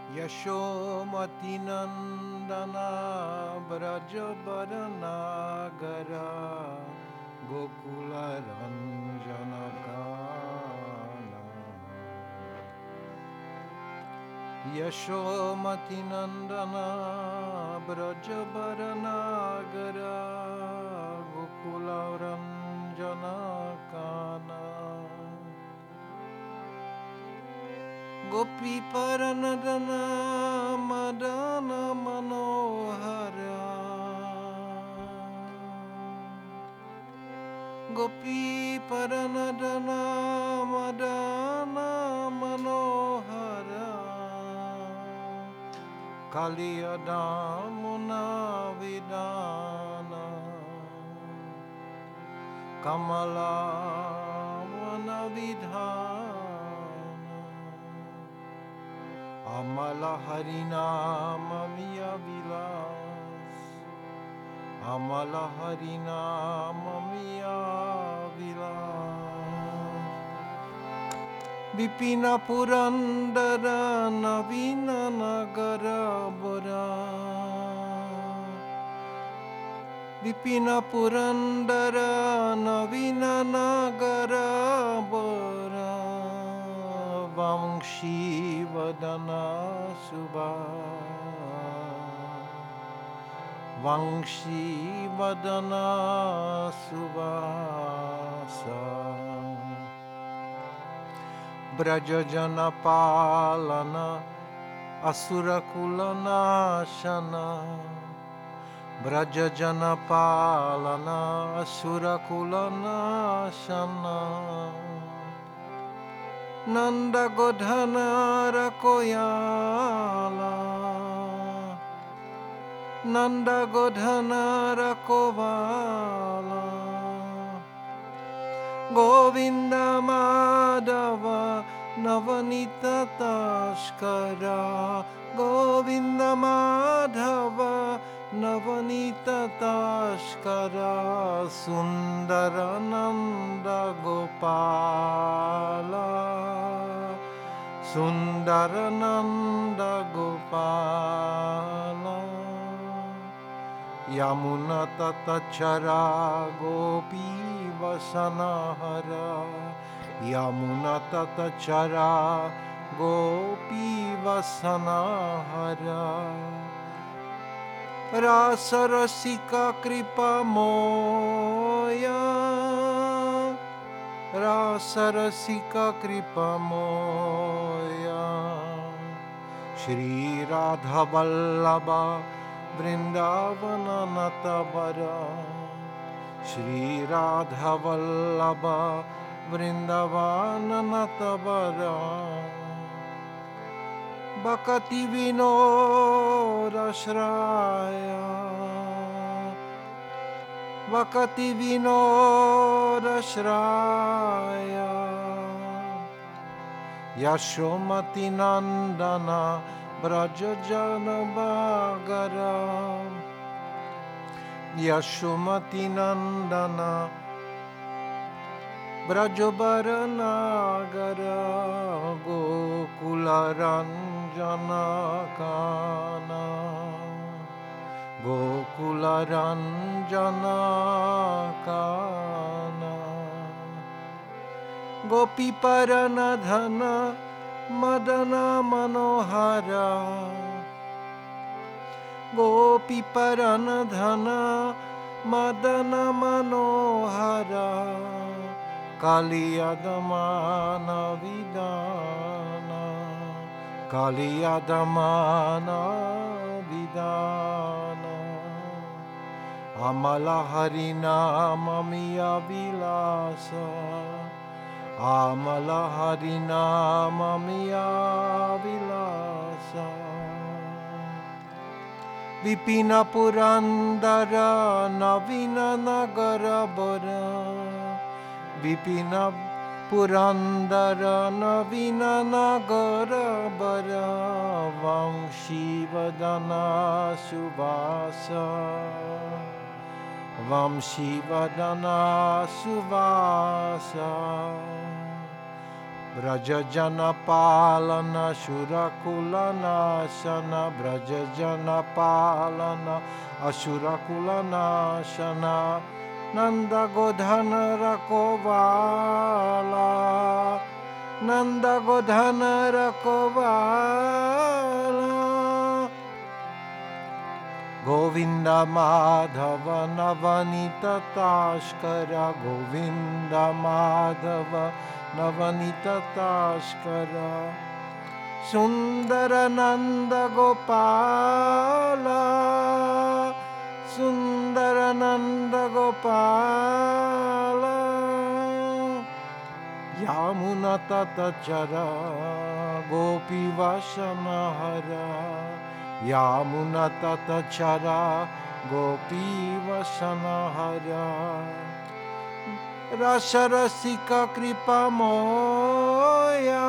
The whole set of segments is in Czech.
यशोमती नंदना ब्रजबरनागरा गोकुल रंजन काना यशोमती नंदना ब्रजबरनागरा गोकुल रंजन काना गोपी परनदना मदन मनोहरा गोपी परनदना मदन मनोहरा कलियदामुना विदाना कमला वन विधान अमल हरिनाम मिया विलास अमल हरिनाम मिया विलास विपिन पुरंदर नवीन नगर बोरा विपिन पुरंदर नवीन नगर बोरा वंशी वदना सुबा वंशी वदना सुबासा ब्रज जन पालना असुर कुल नाशना ब्रज जन पालना असुर कुल नाशना नंद गोधनार कोयाला नंद गोधनार कोवाला गोविंद माधव नवनीत तस्करा गोविंद माधव नवनीत तस्करा सुंदर नंद गोपाला सुंदर नंद गोपाला यमुना ततचरा गोपी वसनहरा यमुना ततचरा गोपी वसनहरा रास रसिका कृपा मोया रास रसिका कृपा मोया श्री राधा वल्लभा वृंदावन नतवरा श्री राधा वल्लभा वृंदावन नतवरा बकति विनोदश्राया बकति विनोदश्राया यशोमती नंदना ब्रज जन बागरा यशोमती नंदना ब्रजबरनागरा गोकुल रंजन काना गोकुल रंजन काना गोपी परनधन मदन मनोहरा गोपी परनधन मदन मनोहरा कालियदमान विदाना कालियदमान विदाना अमल हरिनाम मिया विलासा अमल हरिनाम मिया विलासा विपिन पुरंदर नवीन नगर बोरा विपिन पुरंदर नवीन नगर बरा वंशी वदना सुवासा वंशी वदना सुवासा Brajajana Palana Shurakula Nashana Brajajana Palana Ashurakula Nashana Nanda Godhana Rakovala Nanda Godhana Rakovala Govinda Madhava Navanita Tashkara Govinda Madhava Navanita Tashkara Sundara Nanda Gopala Sundara Nanda Gopala Yamuna Tatachara Gopi Vashanahara Yamuna Tatachara Gopi Vashanahara Rasarasika Kripa Moya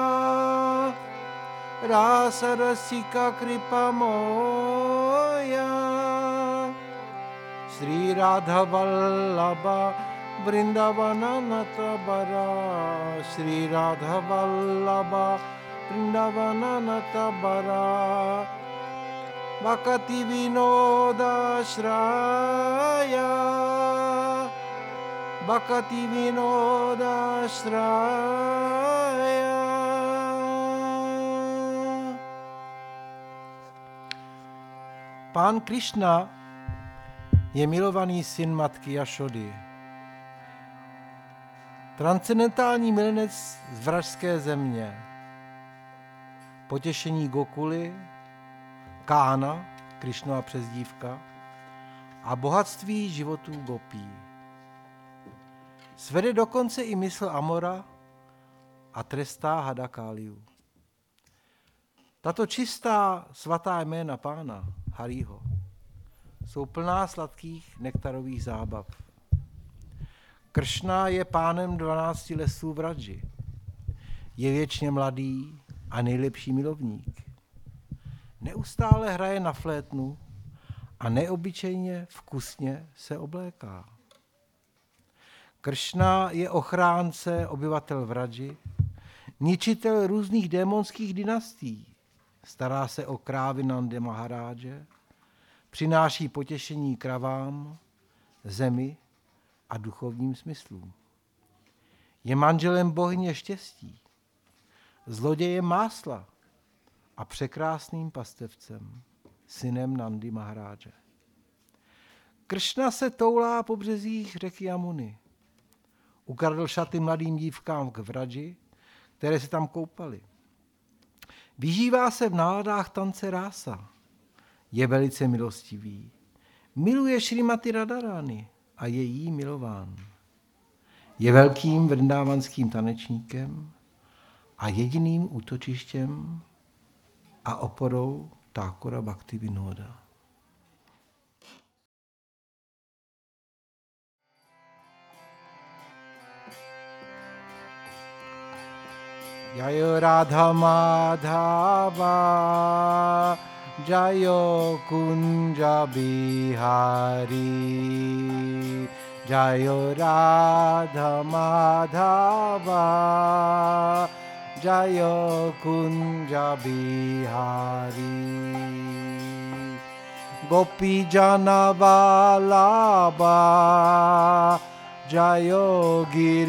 Rasarasika Kripa Moya Sri Radha Vallabha Vrindavana Natabara Sri Radha Vallabha Vrindavana Natabara Bhakati Vinoda Shraya Bhakati Vinoda Shraya. Pán Krišna je milovaný syn matky Jašody. Transcendentální milenec z vražské země. Potěšení Gokuly, Kána, Krišnova přezdívka, a bohatství životů gopí. Svede dokonce i mysl Amora a trestá hada Káliu. Tato čistá svatá jména pána Harího jsou plná sladkých nektarových zábav. Kršna je pánem 12 lesů Vraji. Je věčně mladý a nejlepší milovník. Neustále hraje na flétnu a neobyčejně vkusně se obléká. Kršna je ochránce obyvatel Vraji, ničitel různých démonských dynastií, stará se o krávy Nandy Maharádže, přináší potěšení kravám, zemi a duchovním smyslům. Je manželem bohyně štěstí, zlodějem másla a překrásným pastevcem, synem Nandy Maharádže. Kršna se toulá po březích řeky Jamuny. Ukradl šaty mladým dívkám k Vraji, které se tam koupaly. Vyžívá se v náladách tance rása. Je velice milostivý. Miluje Šrimati Radharani a je jí milován. Je velkým vrindávanským tanečníkem a jediným útočištěm a oporou Thakura Bhaktivinoda. Jayo Radha Madhava Jayo Kunja Bihari Jayo Radha Madhava Jayo Kunja Bihari Gopi Jana Vallabha Jayo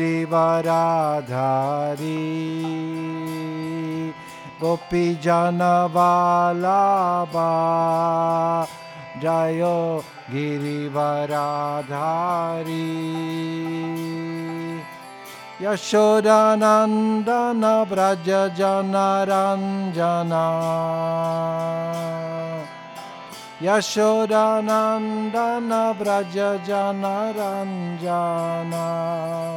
Girivaradhari Gopi Jana Vallabha Jayo Girivaradhari Yashodanandana Braja Jana Ranjana Yashodanandana Braja Jana Ranjana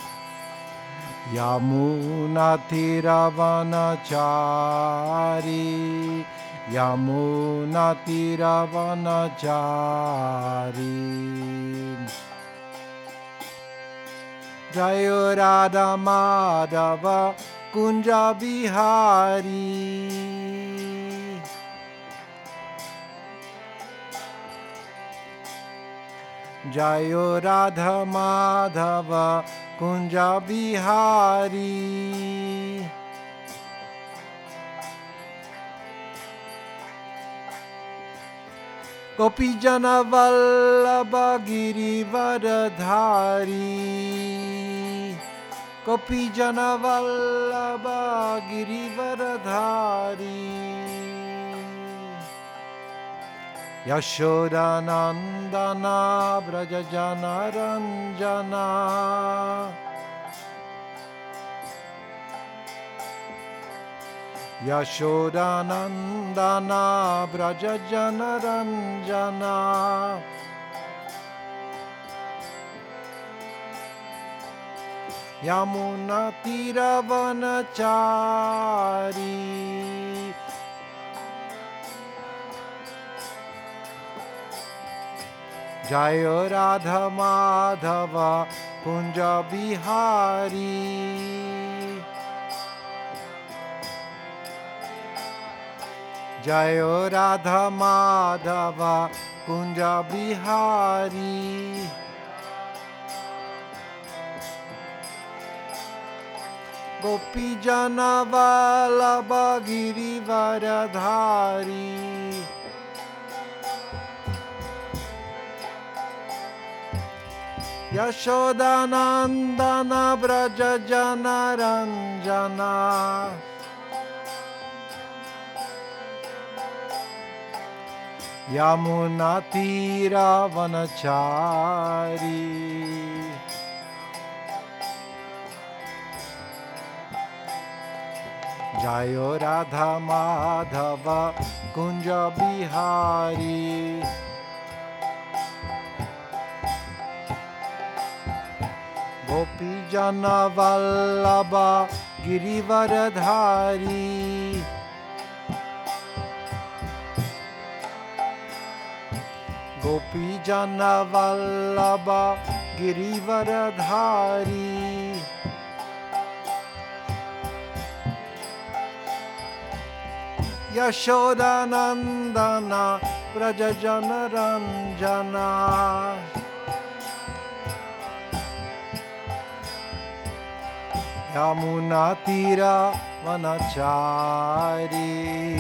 Yamuna Tiravanachari Yamuna Tiravanachari Jayo Radha Madhava Kunja Bihari Jayo Radha Madhava Kunja Bihari गोपीजन वल्लभ गिरिवरधारी गोपीजन वल्लभ गिरिवरधारी यशोदानन्दना व्रजजनरञ्जना यशोदानन्दना व्रजजनरञ्जना यमुनातीरवनचारी जय राधा माधव कुंज बिहारी जय राधा माधव कुंज बिहारी गोपीजन वल्लभ गिरिवरधारी यशोदानन्दन व्रजजनरञ्जना यमुनातीरवनचारी जय राधा माधव कुंज बिहारी गोपीजन वल्लभ गिरिवरधारी गोपीजन वल्लभ गिरिवरधारी यशोदानन्दन व्रजजनरञ्जना यमुनातीरवनचारी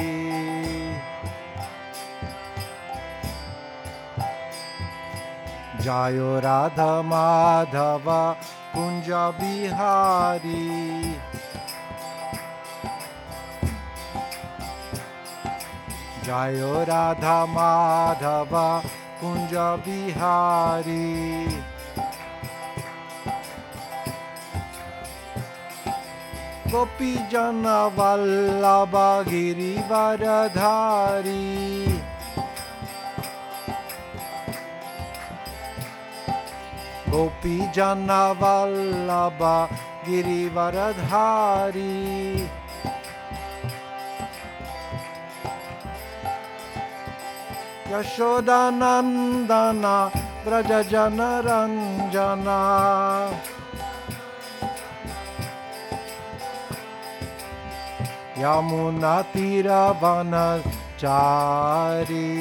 जय राधा माधव कुंज बिहारी जय राधा माधव कुंज बिहारी गोपीजन वल्लभ गिरिवरधारी गोपीजन वल्लभ गिरिवरधारी यशोदानन्दन व्रजजनरञ्जना यमुनातीरवनचारी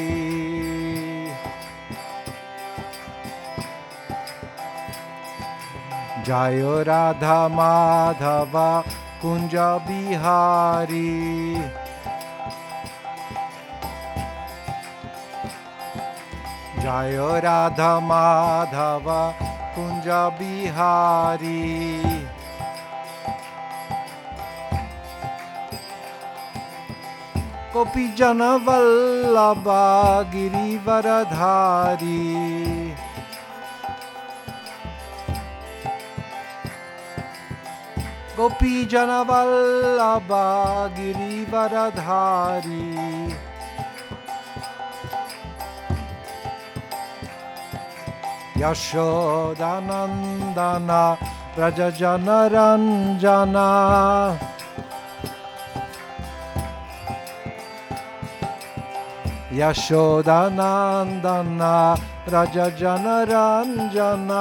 जय राधा माधव कुंज बिहारी जय राधा माधव कुंज बिहारी गोपीजन वल्लभ गिरिवरधारी गोपीजन वल्लभ गिरिवरधारी यशोदानन्दन व्रजजनरञ्जना यशोदानन्दन व्रजजनरञ्जना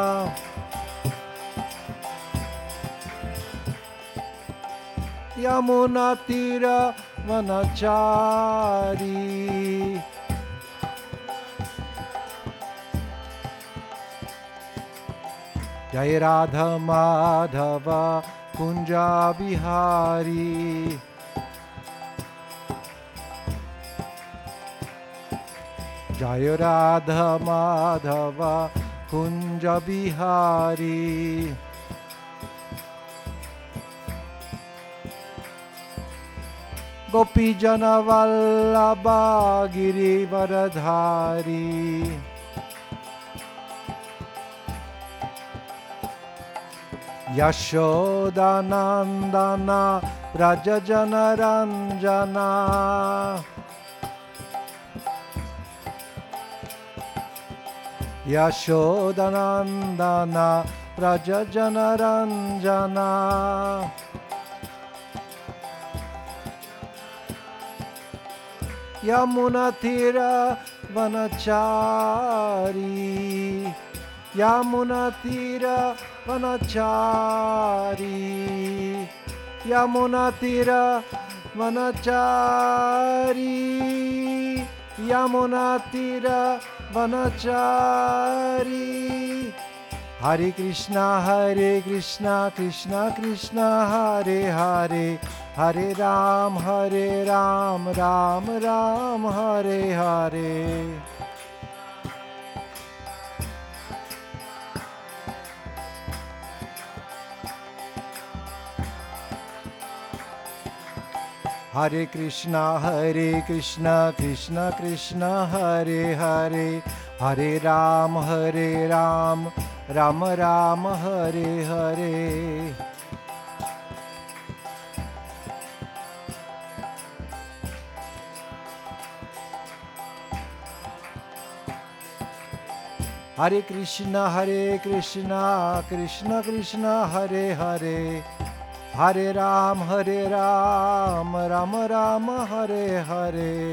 यमुनातीरवनचारी जय राधा माधव कुंज Bihari Jai Radha Madhava Kunja Bihari. Gopi Jana Vallabha Girivaradhari. Yashoda Nandana Raja Jana Ranjana. Yashoda Nandana Raja Jana Ranjana. Yamuna Tira Vanachari. Yamuna Tira Vanachari. Yamuna Tira Vanachari. Yamuna Tira Vanachari. Hare Krishna, Krishna Krishna, Hare Hare. Hare Ram, Ram Ram, Hare Hare. Hare Krishna, Krishna Krishna, Hare Hare. Hare Ram, Ram Ram, Hare Hare. Hare Krishna, Krishna Krishna, Hare Hare. Hare Ram, Ram Ram, Hare Hare.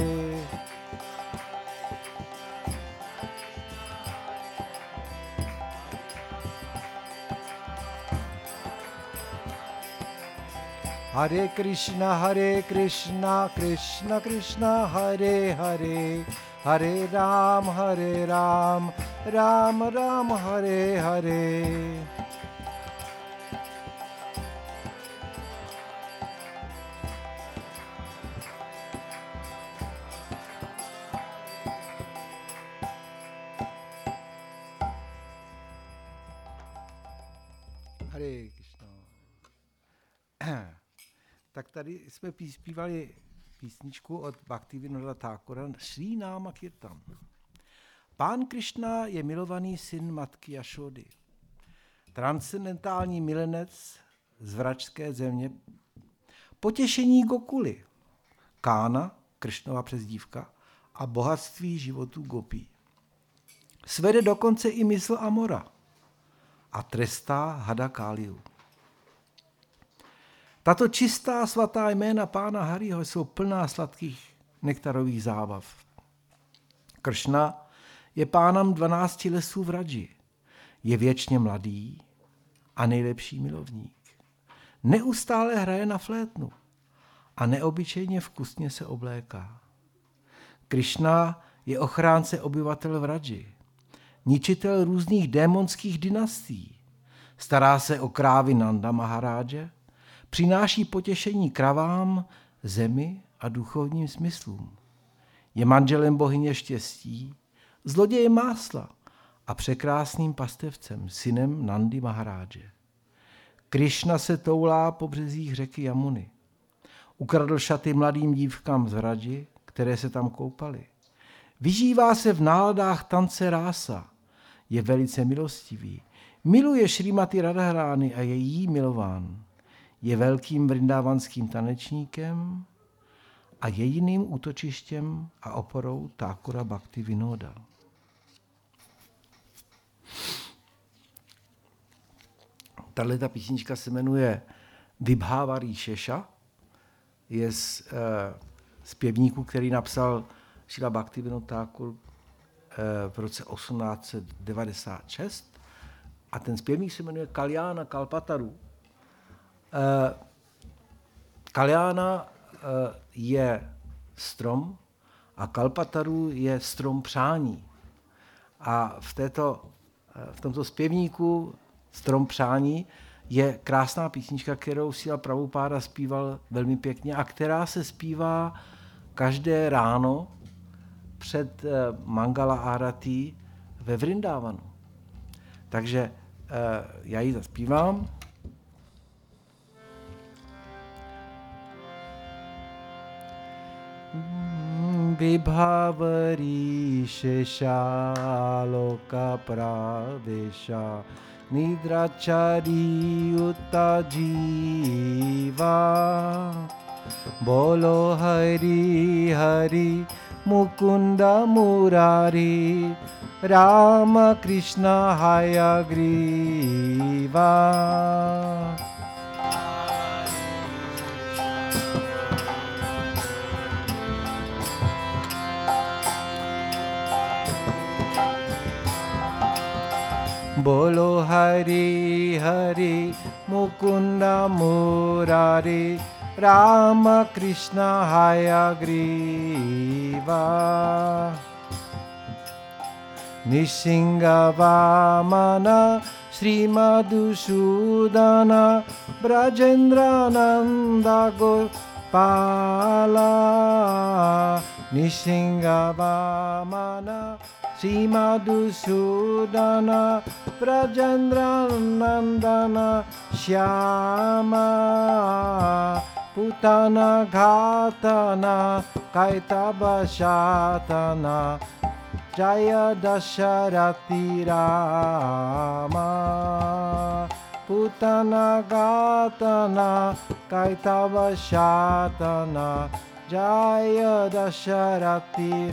Hare Krishna, Krishna Krishna, Hare Hare. Hare Ram, Ram Ram, Hare Hare. Hare Krishna. Tak tady jsme zpívali písničku od Bhaktivinoda Thakura Srí Náma Kirtan. Pán Krišna je milovaný syn matky Jašody. Transcendentální milenec z vračské země. Potěšení Gokuly. Kána, Krišnova přezdívka, a bohatství životů gopí. Svede dokonce i mysl Amora a trestá hada Káliu. Tato čistá svatá jména pána Hariho jsou plná sladkých nektarových zábav. Kršna je pánem 12 lesů v Radži. Je věčně mladý a nejlepší milovník. Neustále hraje na flétnu a neobyčejně vkusně se obléká. Krišna je ochránce obyvatel v Radži, ničitel různých démonských dynastií, stará se o krávy Nanda Maharádže, přináší potěšení kravám, zemi a duchovním smyslům. Je manželem bohyně štěstí, zlodějem másla a překrásným pastevcem, synem Nandy Maharádže. Krišna se toulá po březích řeky Jamuny. Ukradl šaty mladým dívkám z Radži, které se tam koupaly. Vyžívá se v náladách tance rása. Je velice milostivý. Miluje Šrimati Radharány a je jí milován. Je velkým vrindávanským tanečníkem a jediným útočištěm a oporou Thakura Bhaktivinoda. Tato písnička se jmenuje Vibhávarí Šeša. Je z zpěvníku, který napsal Šrila Bhaktivinoda Thakur v roce 1896. A ten zpěvník se jmenuje Kalyana Kalpataru. Kalyana je strom a Kalpataru je strom přání. A v tomto zpěvníku Strom přání je krásná písnička, kterou Srila Prabhupáda zpíval velmi pěkně a která se zpívá každé ráno před Mangala Arati ve Vrindavanu. Takže já ji zaspívám. Vibhavari Sheshaloka Pravesha Nidrachari Uta Jiva Bolo Hari Hari Mukunda Murari Rama Krishna Hayagriva. Bolo Hari Hari Mukunda Murari Rama Krishna Hayagriva. Nishinga Vamana Sri Madhusudana Brajendra Nanda Gopala. Nishinga Vamana Sri Madhusudana Brajendra Nandana Shyama Putana Ghatana Kaitaba Shatana Jaya Dasharati Rama Putana Ghatana Kaitaba Shatana Jaya Dasharati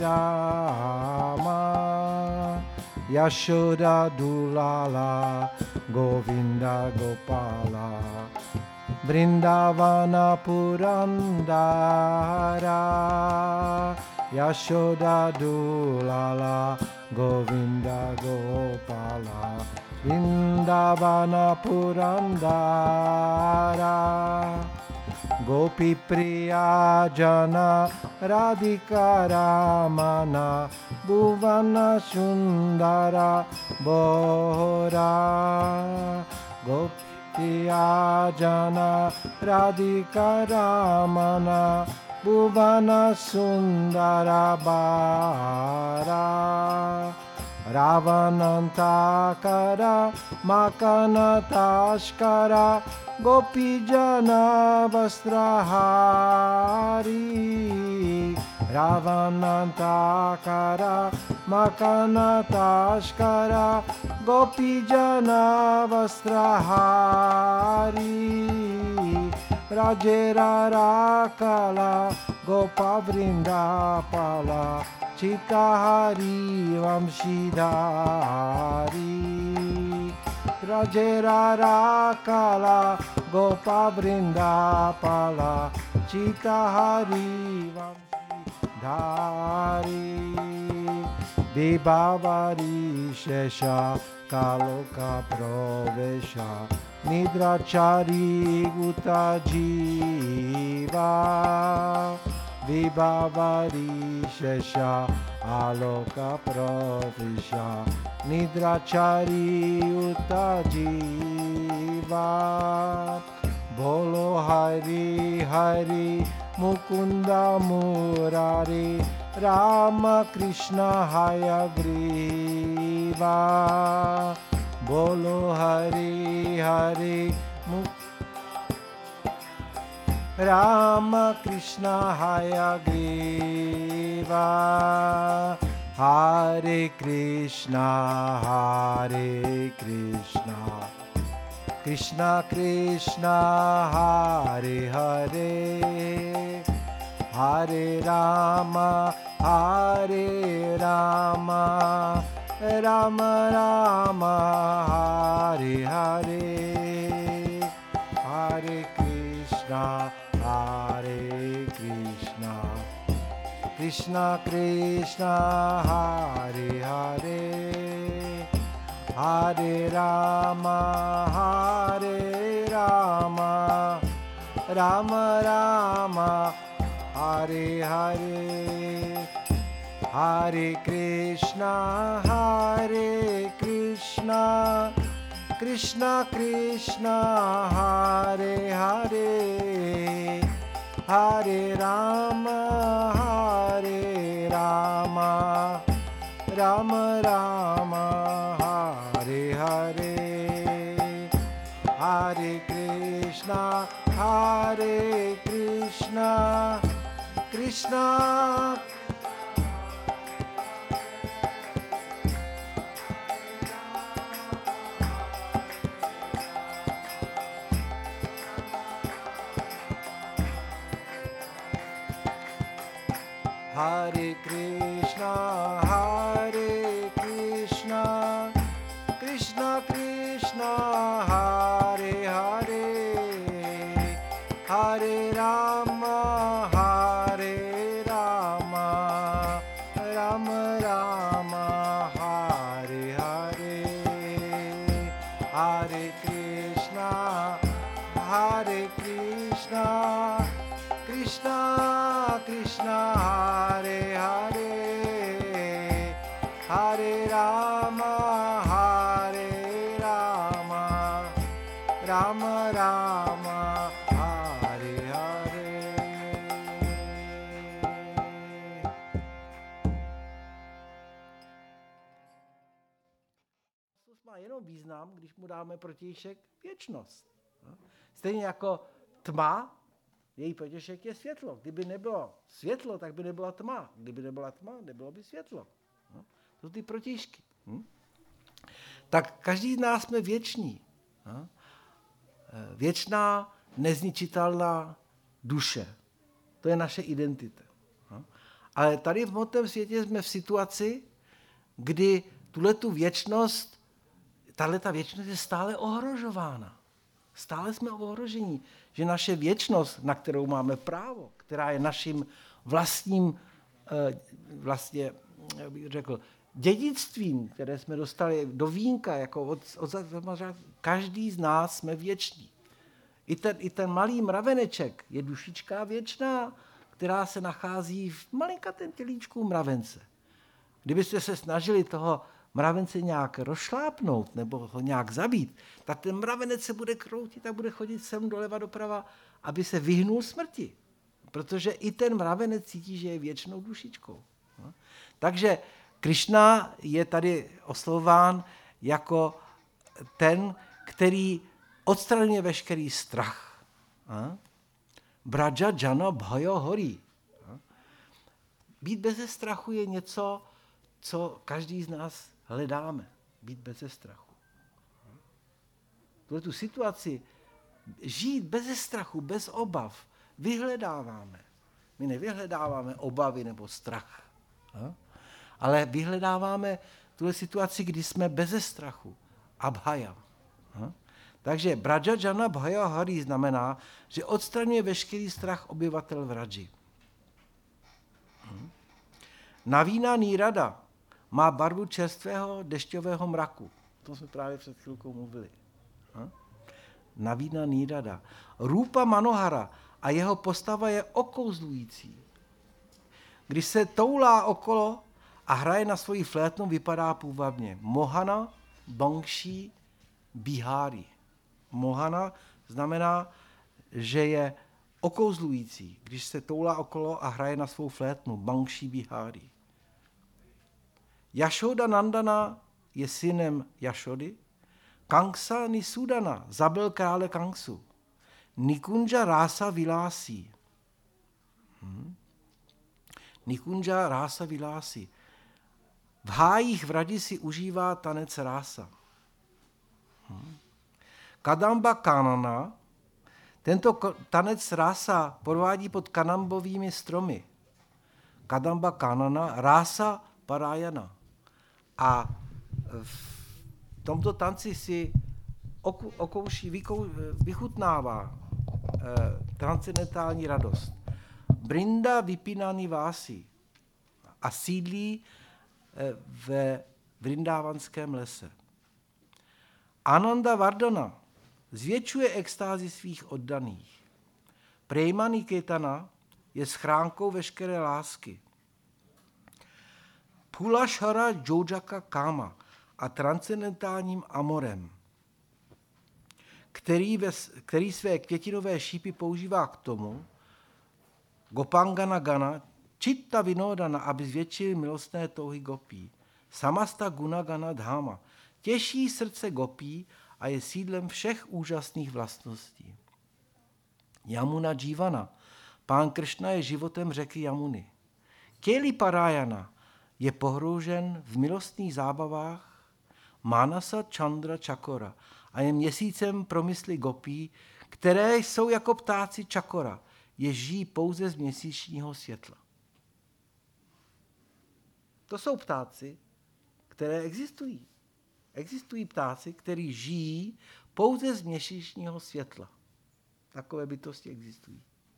Rama. Yashoda Dulala Govinda Gopala Vrindavana Purandara. Yashoda Dulala Govinda Gopala Vrindavana Purandara. Gopi Priya Jana Radhika Ramana Bhuvana Sundara Bohra. Gopi Priya Jana Radhika Ramana Bhuvana Sundara Bara. Ravanantakara Makanatashkara Gopijana Vastrahari. Ravanantakara Makanatashkara Gopijana Vastrahari. Rajera Rakala Gopa Vrindapala Chitahari Vamshidhari. Rajera Rakala Gopa Vrindapala Chitahari Vamshidhari. Debhavari Shesha Kaloka Pravesha Nidrachari Uta Jiva. Vibhavari Shesha Aloka Pravisha Nidrachari Uta Jiva. Bolo Hari Hari Mukunda Murari Rama Krishna Hayagriva. Bolo Hari Hari Rama Krishna Hayagriva. Hare Krishna Krishna Krishna Hare Hare Hare Rama Rama Rama Hare Hare. Hare Krishna Krishna Krishna Hare Hare Hare Rama Rama Rama Hare Hare. Hare Krishna Krishna Krishna Hare Hare Hare Rama Rama, Rama Rama, Hare Hare, Hare Krishna, Krishna. Hare Krishna, Krishna Krishna, Hare Hare, Hare Rama, Rama Rama, Hare Hare, Hare Krishna, Krishna Krishna, Hare Hare, Hare Rama, Rama Rama, Hare Hare. Má jenom význam, když mu dáme protějšek věčnost. Stejně jako tma, její protějšek je světlo. Kdyby nebylo světlo, tak by nebyla tma. Kdyby nebyla tma, nebylo by světlo. To jsou ty protějšky. Tak každý z nás jsme věční. Věčná, nezničitelná duše. To je naše identita. Ale tady v hmotném světě jsme v situaci, kdy tuhletu věčnost, tahleta věčnost je stále ohrožována. Stále jsme v ohrožení, že naše věčnost, na kterou máme právo, která je naším vlastním, vlastně, bych řekl, dědictvím, které jsme dostali do vínka, jako od každý z nás jsme věční. I ten malý mraveneček je dušička věčná, která se nachází v malinkatém tělíčku mravence. Kdybyste se snažili toho mravence nějak rozšlápnout nebo ho nějak zabít, tak ten mravenec se bude kroutit a bude chodit sem doleva doprava, aby se vyhnul smrti. Protože i ten mravenec cítí, že je věčnou dušičkou. Takže Krišna je tady oslovován jako ten, který odstraňuje veškerý strach. Braja jana bhayo hori. Být beze strachu je něco, co každý z nás hledáme. Být beze strachu. Tu situaci žít beze strachu, bez obav, vyhledáváme. My nevyhledáváme obavy nebo strach, ale vyhledáváme tu situaci, kdy jsme beze strachu. Abhaya. Takže Braja jana bhayo hari znamená, že odstraňuje veškerý strach obyvatel Vraji. Navína nírada má barvu čerstvého dešťového mraku. To jsme právě před chvilkou mluvili. Navína nírada. Rupa Manohara a jeho postava je okouzlující. Když se toulá okolo a hraje na svoji flétnu, vypadá půvabně. Mohana Bangshi Bihari. Mohana znamená, že je okouzlující, když se toulá okolo a hraje na svou flétnu. Bangshi Bihari. Jašoda Nandana je synem Jašody. Kangsa Nisudana zabil krále Kangsu. Nikunja Rasa Vilasi. Nikunja Rasa Vilasi. V hájích Vraji si užívá tanec rása. Kadamba Kanana. Tento tanec rása provádí pod kanambovými stromy. Kadamba Kanana, rása Parayana. A v tomto tanci si vychutnává transcendentální radost. Brinda Vipinani Vási a sídlí ve Vrindávanském lese. Ananda Vardhana zvětšuje extázi svých oddaných. Prema Niketana je schránkou veškeré lásky. Pulashara Jojaka Kama a transcendentálním amorem, který své květinové šípy používá k tomu, Gopangana Gana, Chitta vinodana, aby zvětšil milostné touhy gopí. Samasta gunagana dhama, těší srdce gopí a je sídlem všech úžasných vlastností. Yamuna Jivana, pán Kršna je životem řeky Jamuny. Keli Parayana je pohroužen v milostných zábavách Manasa Chandra Chakora a je měsícem pro mysli gopí, které jsou jako ptáci Chakora, je žijí pouze z měsíčního světla. To jsou ptáci, které existují. Existují ptáci, kteří žijí pouze z měsíčního světla. Takové bytosti existují.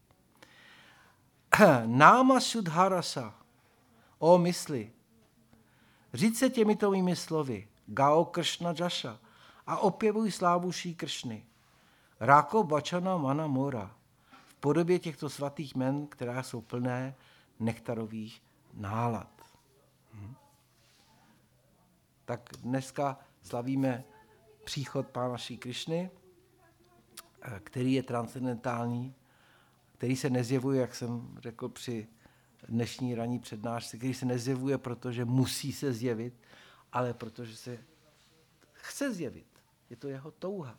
Náma Sudharasa, o mysli, říct se těmito mými slovy, Gao Kršna Jasha, a opěvuj slávu Šrí Kršny. Ráko Bachana Mana Mora, v podobě těchto svatých jmen, která jsou plné nektarových nálad. Tak dneska slavíme příchod Pána Šrí Kršny, který je transcendentální, který se nezjevuje, jak jsem řekl při dnešní ranní přednášce, který se nezjevuje, protože musí se zjevit, ale protože se chce zjevit. Je to jeho touha.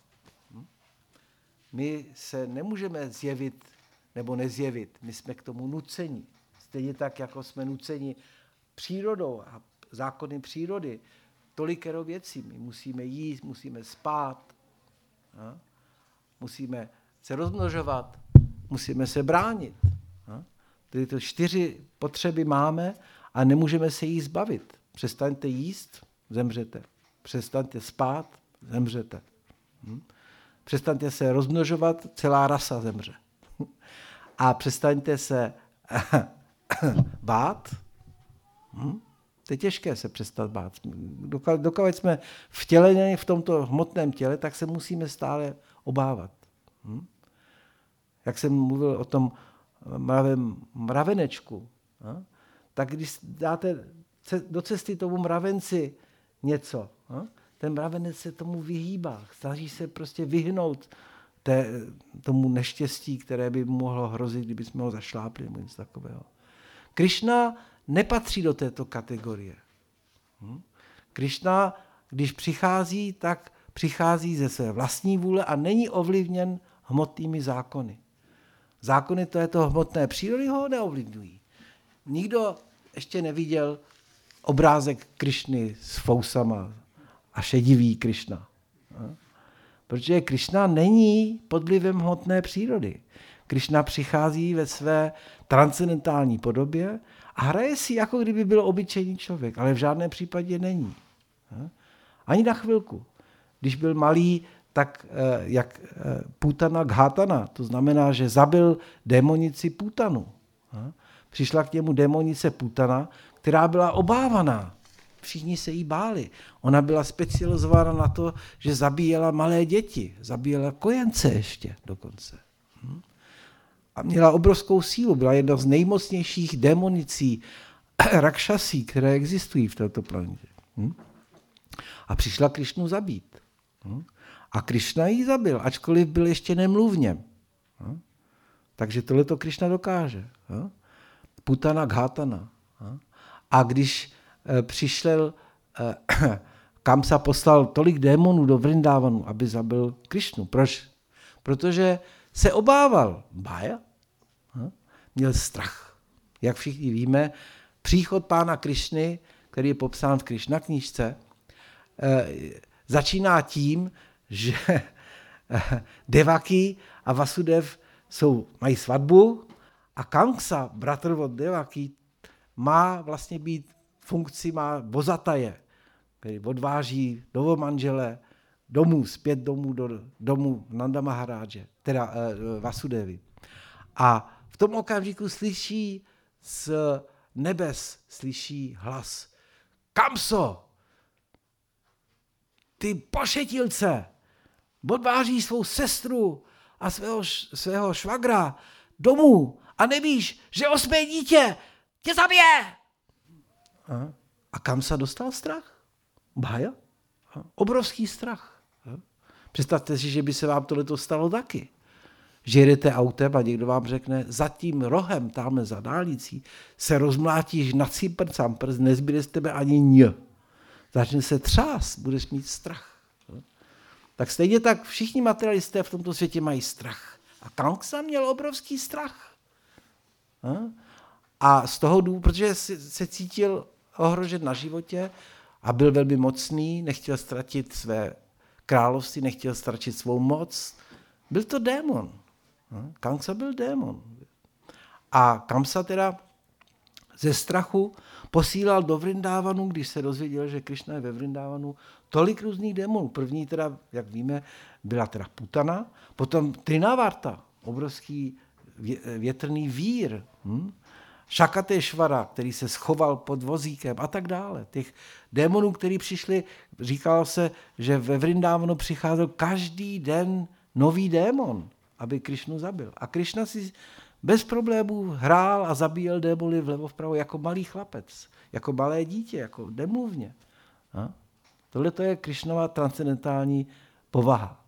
My se nemůžeme zjevit nebo nezjevit. My jsme k tomu nuceni. Stejně tak, jako jsme nuceni přírodou a zákony přírody. Tolikero věcí. My musíme jíst, musíme spát, musíme se rozmnožovat, musíme se bránit. Tyto 4 potřeby máme a nemůžeme se jí zbavit. Přestaňte jíst, zemřete. Přestaňte spát, zemřete. Přestaňte se rozmnožovat, celá rasa zemře. A přestaňte se bát. To je těžké se přestat bát. Dokud jsme vtěleni v tomto hmotném těle, tak se musíme stále obávat. Jak jsem mluvil o tom mravenečku, tak když dáte do cesty tomu mravenci něco, ten mravenec se tomu vyhýbá, snaží se prostě vyhnout tomu neštěstí, které by mohlo hrozit, kdyby jsme ho zašlápli nebo něco takového. Kršna nepatří do této kategorie. Kršna, když přichází, tak přichází ze své vlastní vůle a není ovlivněn hmotnými zákony. Zákony této hmotné přírody ho neovlivňují. Nikdo ještě neviděl obrázek Kršny s fousama a šedivý Kršna. Protože Kršna není pod vlivem hmotné přírody. Kršna přichází ve své transcendentální podobě a hraje si, jako kdyby byl obyčejný člověk, ale v žádném případě není. Ani na chvilku. Když byl malý, tak jak Putana Ghátana, to znamená, že zabil démonici Putanu. Přišla k němu démonice Putana, která byla obávaná. Všichni se jí báli. Ona byla specializována na to, že zabíjela malé děti. Zabíjela kojence ještě dokonce. A měla obrovskou sílu. Byla jedna z nejmocnějších démonicí, rakšasí, které existují v této planetě. A přišla Krišnu zabít. A Krišna ji zabil, ačkoliv byl ještě nemluvně. Takže tohleto Krišna dokáže. Putana Ghátana. A když přišel, Kamsa poslal tolik démonů do Vrindávanu, aby zabil Krišnu. Proč? Protože se obával. Bája? Měl strach. Jak všichni víme, příchod pána Krišny, který je popsán v Krišna knížce, začíná tím, že Devaki a Vasudev mají svatbu a Kamsa, bratr od Devaki, má vlastně být má vozataje, který odváží novomanžele zpět domů do domu Nanda Maharáže, teda Vasudevy. A v tom okamžiku slyší z nebes hlas. Kamso, ty pošetilce, odváží svou sestru a svého švagra domů a nevíš, že 8. dítě tě zabije. A Kamsa dostal strach? Bája? Obrovský strach. Představte si, že by se vám tohleto stalo taky. že jedete autem a někdo vám řekne, za tím rohem, tamhle za dálnicí, se rozmlátíš na cimpr-campr, nezbyde z tebe ani ň. Začne se třás, budeš mít strach. Tak stejně tak všichni materialisté v tomto světě mají strach. A Kangsa měl obrovský strach. A z toho důvodu, protože se cítil ohrožen na životě a byl velmi mocný, nechtěl ztratit své království, nechtěl ztratit svou moc. Byl to démon. Kangsa byl démon. A Kamsa teda ze strachu posílal do Vrindávanu, když se dozvěděl, že Krišna je ve Vrindávanu, tolik různých démonů. První teda, jak víme, byla teda Putana, potom Trinavarta, obrovský větrný vír, Šakatešvara, který se schoval pod vozíkem a tak dále. Těch démonů, kteří přišli, říkalo se, že ve Vrindávanu přicházel každý den nový démon, aby Krišnu zabil. A Krišna si bez problémů hrál a zabíjel démony vlevo vpravo jako malý chlapec, jako malé dítě, jako nemluvně. Tohle to je Krišnova transcendentální povaha.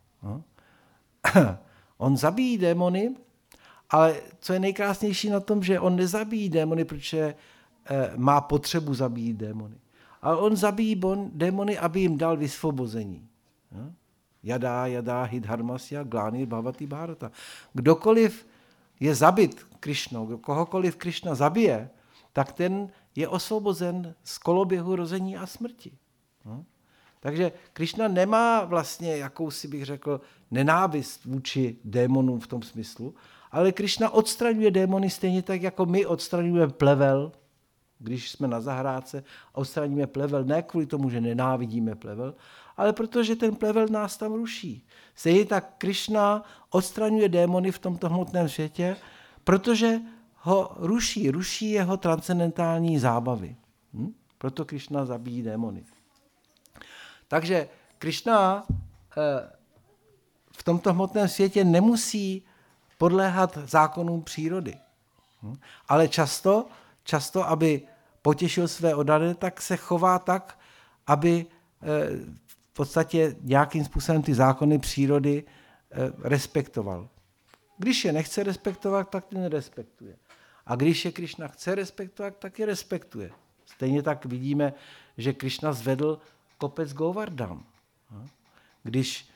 On zabíjí démony, ale co je nejkrásnější na tom, že on nezabíjí démony, protože má potřebu zabíjet démony. Ale on zabíjí démony, aby jim dal vysvobození. Jadá, hidharmasya, glány, bhavati bharata. Kdokoliv je zabit Krišnou, kohokoliv Krišna zabije, tak ten je osvobozen z koloběhu rození a smrti. Takže Krišna nemá vlastně jakousi, bych řekl, nenávist vůči démonům v tom smyslu, ale Krišna odstraňuje démony stejně tak, jako my odstraňujeme plevel, když jsme na zahrádce, odstraníme plevel ne kvůli tomu, že nenávidíme plevel, ale protože ten plevel nás tam ruší. Stejně tak Krišna odstraňuje démony v tomto hmotném světě, protože ho ruší jeho transcendentální zábavy. Proto Krišna zabíjí démony. Takže Krišna v tomto hmotném světě nemusí podléhat zákonům přírody. Ale často, aby potěšil své oddané, tak se chová tak, aby v podstatě nějakým způsobem ty zákony přírody respektoval. Když je nechce respektovat, tak je nerespektuje. A když je Krišna chce respektovat, tak je respektuje. Stejně tak vidíme, že Krišna zvedl kopec Govardhan. Když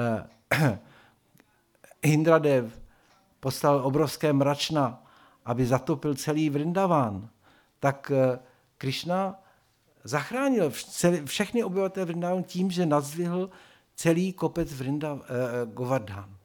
Indradev poslal obrovské mračna, aby zatopil celý Vrindavan, tak Krišna zachránil všechny obyvatele Vrindavanu tím, že nadzvihl celý kopec Govardhan.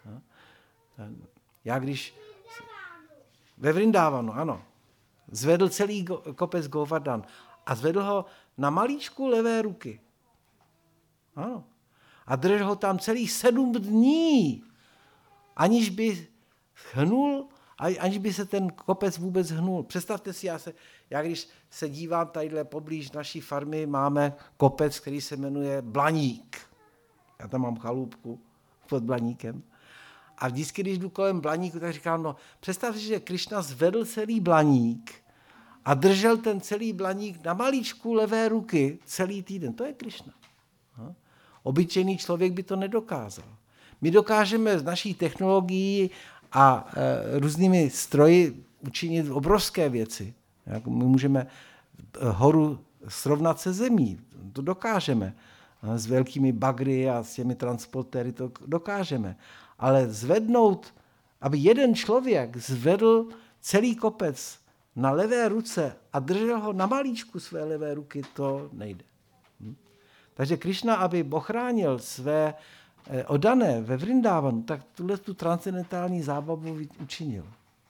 Já když ve Vrindavanu, ano, zvedl celý kopec Govardhan a zvedl ho na malíčku levé ruky. Ano. A držel ho tam celých 7 dní, aniž by hnul, aniž by se ten kopec vůbec hnul. Představte si, já když se dívám tadyhle poblíž naší farmy, máme kopec, který se jmenuje Blaník. Já tam mám chalupku pod Blaníkem. A vždycky, když jdu kolem Blaníku, tak říkám, no představte si, že Krišna zvedl celý Blaník a držel ten celý Blaník na malíčku levé ruky celý týden. To je Krišna. Obyčejný člověk by to nedokázal. My dokážeme z naší technologií a různými stroji učinit obrovské věci. My můžeme horu srovnat se zemí, to dokážeme. S velkými bagry a s těmi transportéry to dokážeme. Ale zvednout, aby jeden člověk zvedl celý kopec na levé ruce a držel ho na malíčku své levé ruky, to nejde. Takže Krišna, aby ochránil své oddané ve Vrindávanu, tak tu transcendentální zábavu učinil.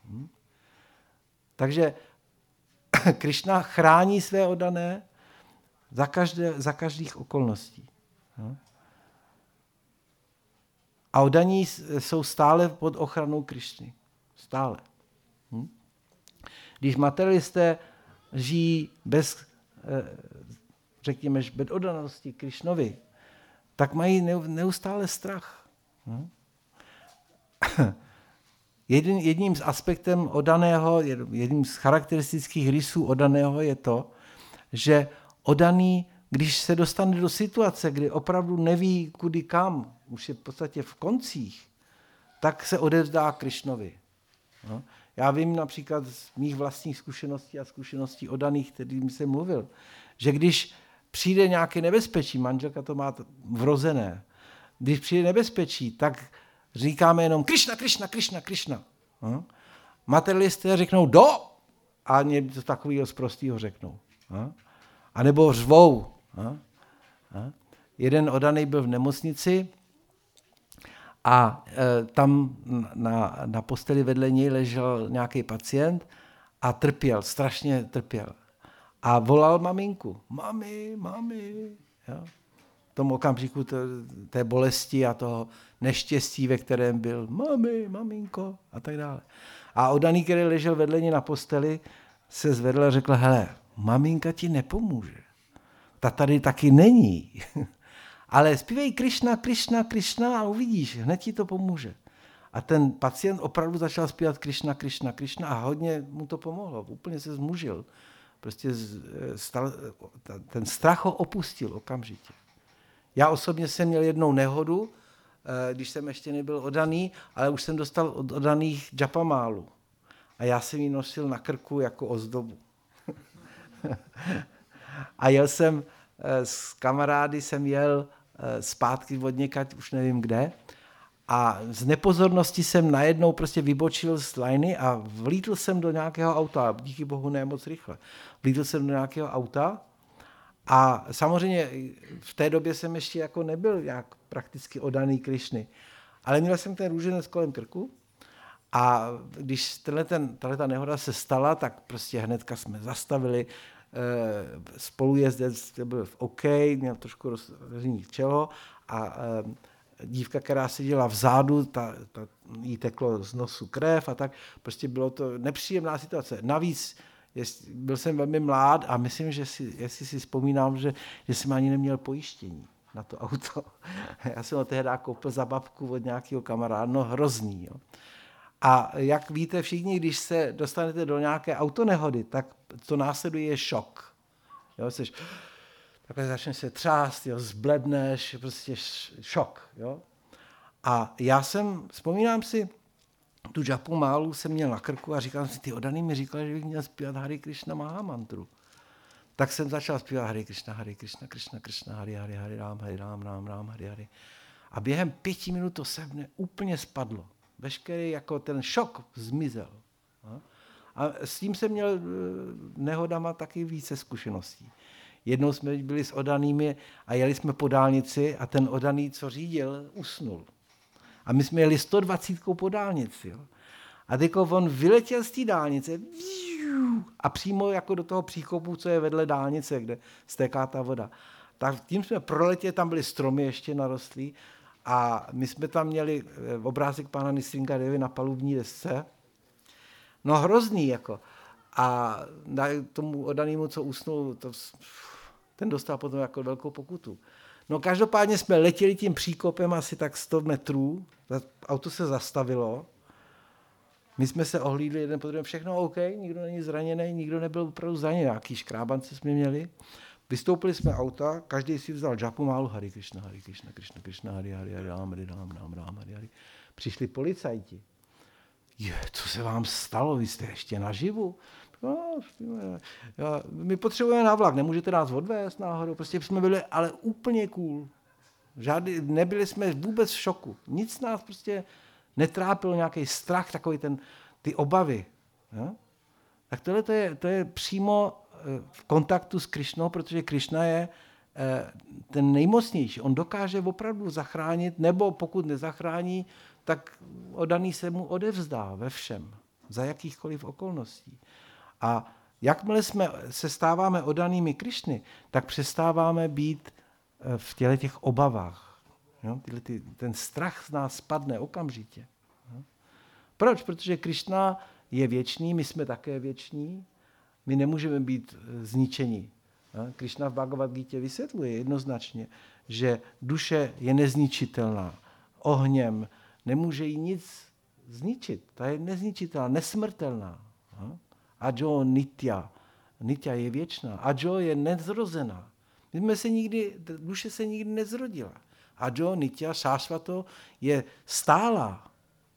Takže Krišna chrání své oddané za každých okolností. A oddaní jsou stále pod ochranou Krišny. Stále. Když materialisté žijí bez, řekněme, bez oddanosti Krišnovi, tak mají neustále strach. Jedním z aspektem oddaného, jedním z charakteristických rysů oddaného je to, že oddaný, když se dostane do situace, kdy opravdu neví kudy kam, už je v podstatě v koncích, tak se odevzdá Krišnovi. No. Já vím například z mých vlastních zkušeností a zkušeností oddaných, kterým jsem mluvil, že když přijde nějaké nebezpečí, manželka to má vrozené, když přijde nebezpečí, tak říkáme jenom Krišna, Krišna, Krišna, Krišna. No. Materialisté řeknou do a něco takového zprostýho řeknou. A nebo řvou. Jeden oddaný byl v nemocnici a tam na posteli vedle něj ležel nějaký pacient a trpěl, strašně trpěl. A volal maminku. Mami, mami. Jo? V tom okamžiku té bolesti a toho neštěstí, ve kterém byl. Mami, maminko a tak dále. A oddaný, který ležel vedle něj na posteli, se zvedl a řekl, hele, maminka ti nepomůže. Ta tady taky není. Ale zpívej Krišna, Krišna, Krišna a uvidíš, hned ti to pomůže. A ten pacient opravdu začal zpívat Krišna, Krišna, Krišna a hodně mu to pomohlo. Úplně se zmužil. Prostě ten strach ho opustil okamžitě. Já osobně jsem měl jednou nehodu, když jsem ještě nebyl oddaný, ale už jsem dostal od oddaných džapamálu. A já jsem ji nosil na krku jako ozdobu. A jel jsem s kamarády, jsem jel zpátky od někať, už nevím kde, a z nepozornosti jsem najednou prostě vybočil z lajny a vlítl jsem do nějakého auta, díky bohu ne moc rychle. Vlítl jsem do nějakého auta a samozřejmě v té době jsem ještě jako nebyl jak prakticky oddaný Krišny, ale měl jsem ten růženec kolem krku a když tato nehoda se stala, tak prostě hnedka jsme zastavili, spolujezdec byl v OK, měl trošku rozřený čelo a dívka, která seděla vzadu, jí teklo z nosu krev a tak, prostě bylo to nepříjemná situace. Navíc byl jsem velmi mlád a myslím, že jestli si vzpomínám, že jsem ani neměl pojištění na to auto. Já jsem ho tehdy koupil za babku od nějakého kamaráda, no hrozný. Jo. A jak víte všichni, když se dostanete do nějaké autonehody, tak to následuje šok. Jo, takhle začneš se třást, jo, zbledneš, prostě šok. Jo. A vzpomínám si, tu džapu málu jsem měl na krku a říkal si, ty oddaný mi říkali, že bych měl zpívat Hare Krishna Mahamantru. Tak jsem začal zpívat Hare Krishna, Krishna Krishna, Hare Ram, Ram, Hare. A během 5 minut to se mne úplně spadlo. Veškerý jako ten šok zmizel. A s tím jsem měl nehodama taky více zkušeností. Jednou jsme byli s oddanými a jeli jsme po dálnici a ten oddaný, co řídil, usnul. A my jsme jeli 120 po dálnici. Jo. A teď on vyletěl z té dálnice a přímo jako do toho příkopu, co je vedle dálnice, kde stéká ta voda. Tak tím jsme proletěli, tam byly stromy ještě narostlý a my jsme tam měli obrázek pána Nisringa Devy na palubní desce. No hrozný jako. A tomu oddanému, co usnul, ten dostal potom jako velkou pokutu. No každopádně jsme letěli tím příkopem asi tak 100 metrů, auto se zastavilo, my jsme se ohlídli jeden po druhém, všechno OK, nikdo není zraněný, nikdo nebyl opravdu zraněný, nějaký škrábance jsme měli. Vystoupili jsme auta, každý si vzal džapu málu, Hare Krishna, Krishna, Hare Ram. Přišli policajti. Co se vám stalo, vy jste ještě naživu? No, my potřebujeme na vlak, nemůžete nás odvést náhodou, prostě jsme byli ale úplně cool. Nebyli jsme vůbec v šoku. Nic nás prostě netrápilo, nějaký strach, takový ty obavy. Ja? Tak tohle to je přímo v kontaktu s Krišnou, protože Krišna je ten nejmocnější. On dokáže opravdu zachránit, nebo pokud nezachrání, tak oddaný se mu odevzdá ve všem, za jakýchkoliv okolností. A jakmile se stáváme oddanými Krišny, tak přestáváme být v těch obavách. Jo? Ten strach z nás spadne okamžitě. Jo? Proč? Protože Krišna je věčný, my jsme také věční, my nemůžeme být zničeni. Jo? Krišna v Bhagavad Gítě vysvětluje jednoznačně, že duše je nezničitelná. Ohněm nemůže jí nic zničit. Ta je nezničitelná, nesmrtelná. Jo? Ajo nitya. Nitya je věčná. Ajo je nezrozená. Duše se nikdy nezrodila. Ajo nitya šášvato je stálá.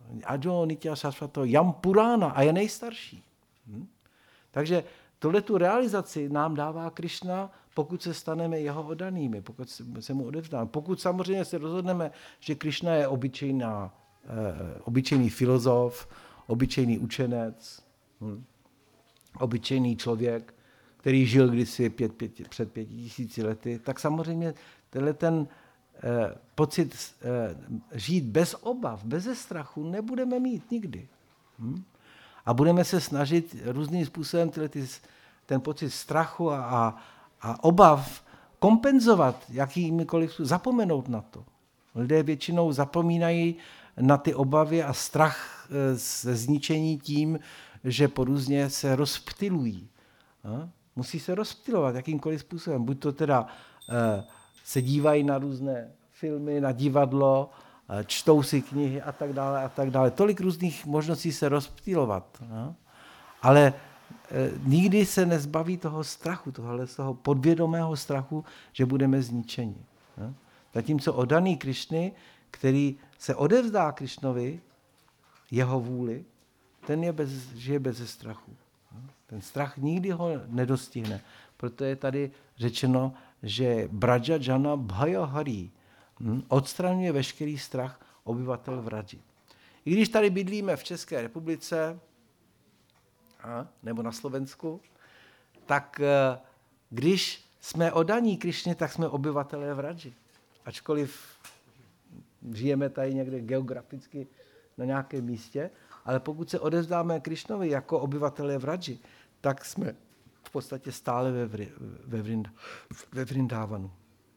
Ajo Nitya Sasvato Yam Purana a je nejstarší. Takže tu realizaci nám dává Krišna, pokud se staneme jeho oddanými, pokud se mu odevzdáme. Pokud samozřejmě se rozhodneme, že Krišna je obyčejný filozof, obyčejný učenec, obyčejný člověk, který žil kdysi před 5000 lety, tak samozřejmě ten pocit žít bez obav, bez strachu nebudeme mít nikdy. A budeme se snažit různým způsobem ten pocit strachu a obav kompenzovat jakýmikoliv, zapomenout na to. Lidé většinou zapomínají na ty obavy a strach ze zničení tím, že porůzně se rozptylují. Musí se rozptylovat jakýmkoliv způsobem. Buď to teda se dívají na různé filmy, na divadlo, čtou si knihy a tak dále, a tak dále. Tolik různých možností se rozptylovat. Ale nikdy se nezbaví toho strachu, toho podvědomého strachu, že budeme zničeni. Zatímco oddaný Krišny, který se odevzdá Krišnovi, jeho vůli, ten žije bez strachu. Ten strach nikdy ho nedostihne. Proto je tady řečeno, že Braja Jana Bhaya Hari odstraňuje veškerý strach obyvatel Vraji. I když tady bydlíme v České republice nebo na Slovensku, tak když jsme oddaní Krišně, tak jsme obyvatelé Vraji. Ačkoliv žijeme tady někde geograficky na nějakém místě, ale pokud se odevzdáme Krišnovi jako obyvatelé Vraji, tak jsme v podstatě stále ve Vrindávanu.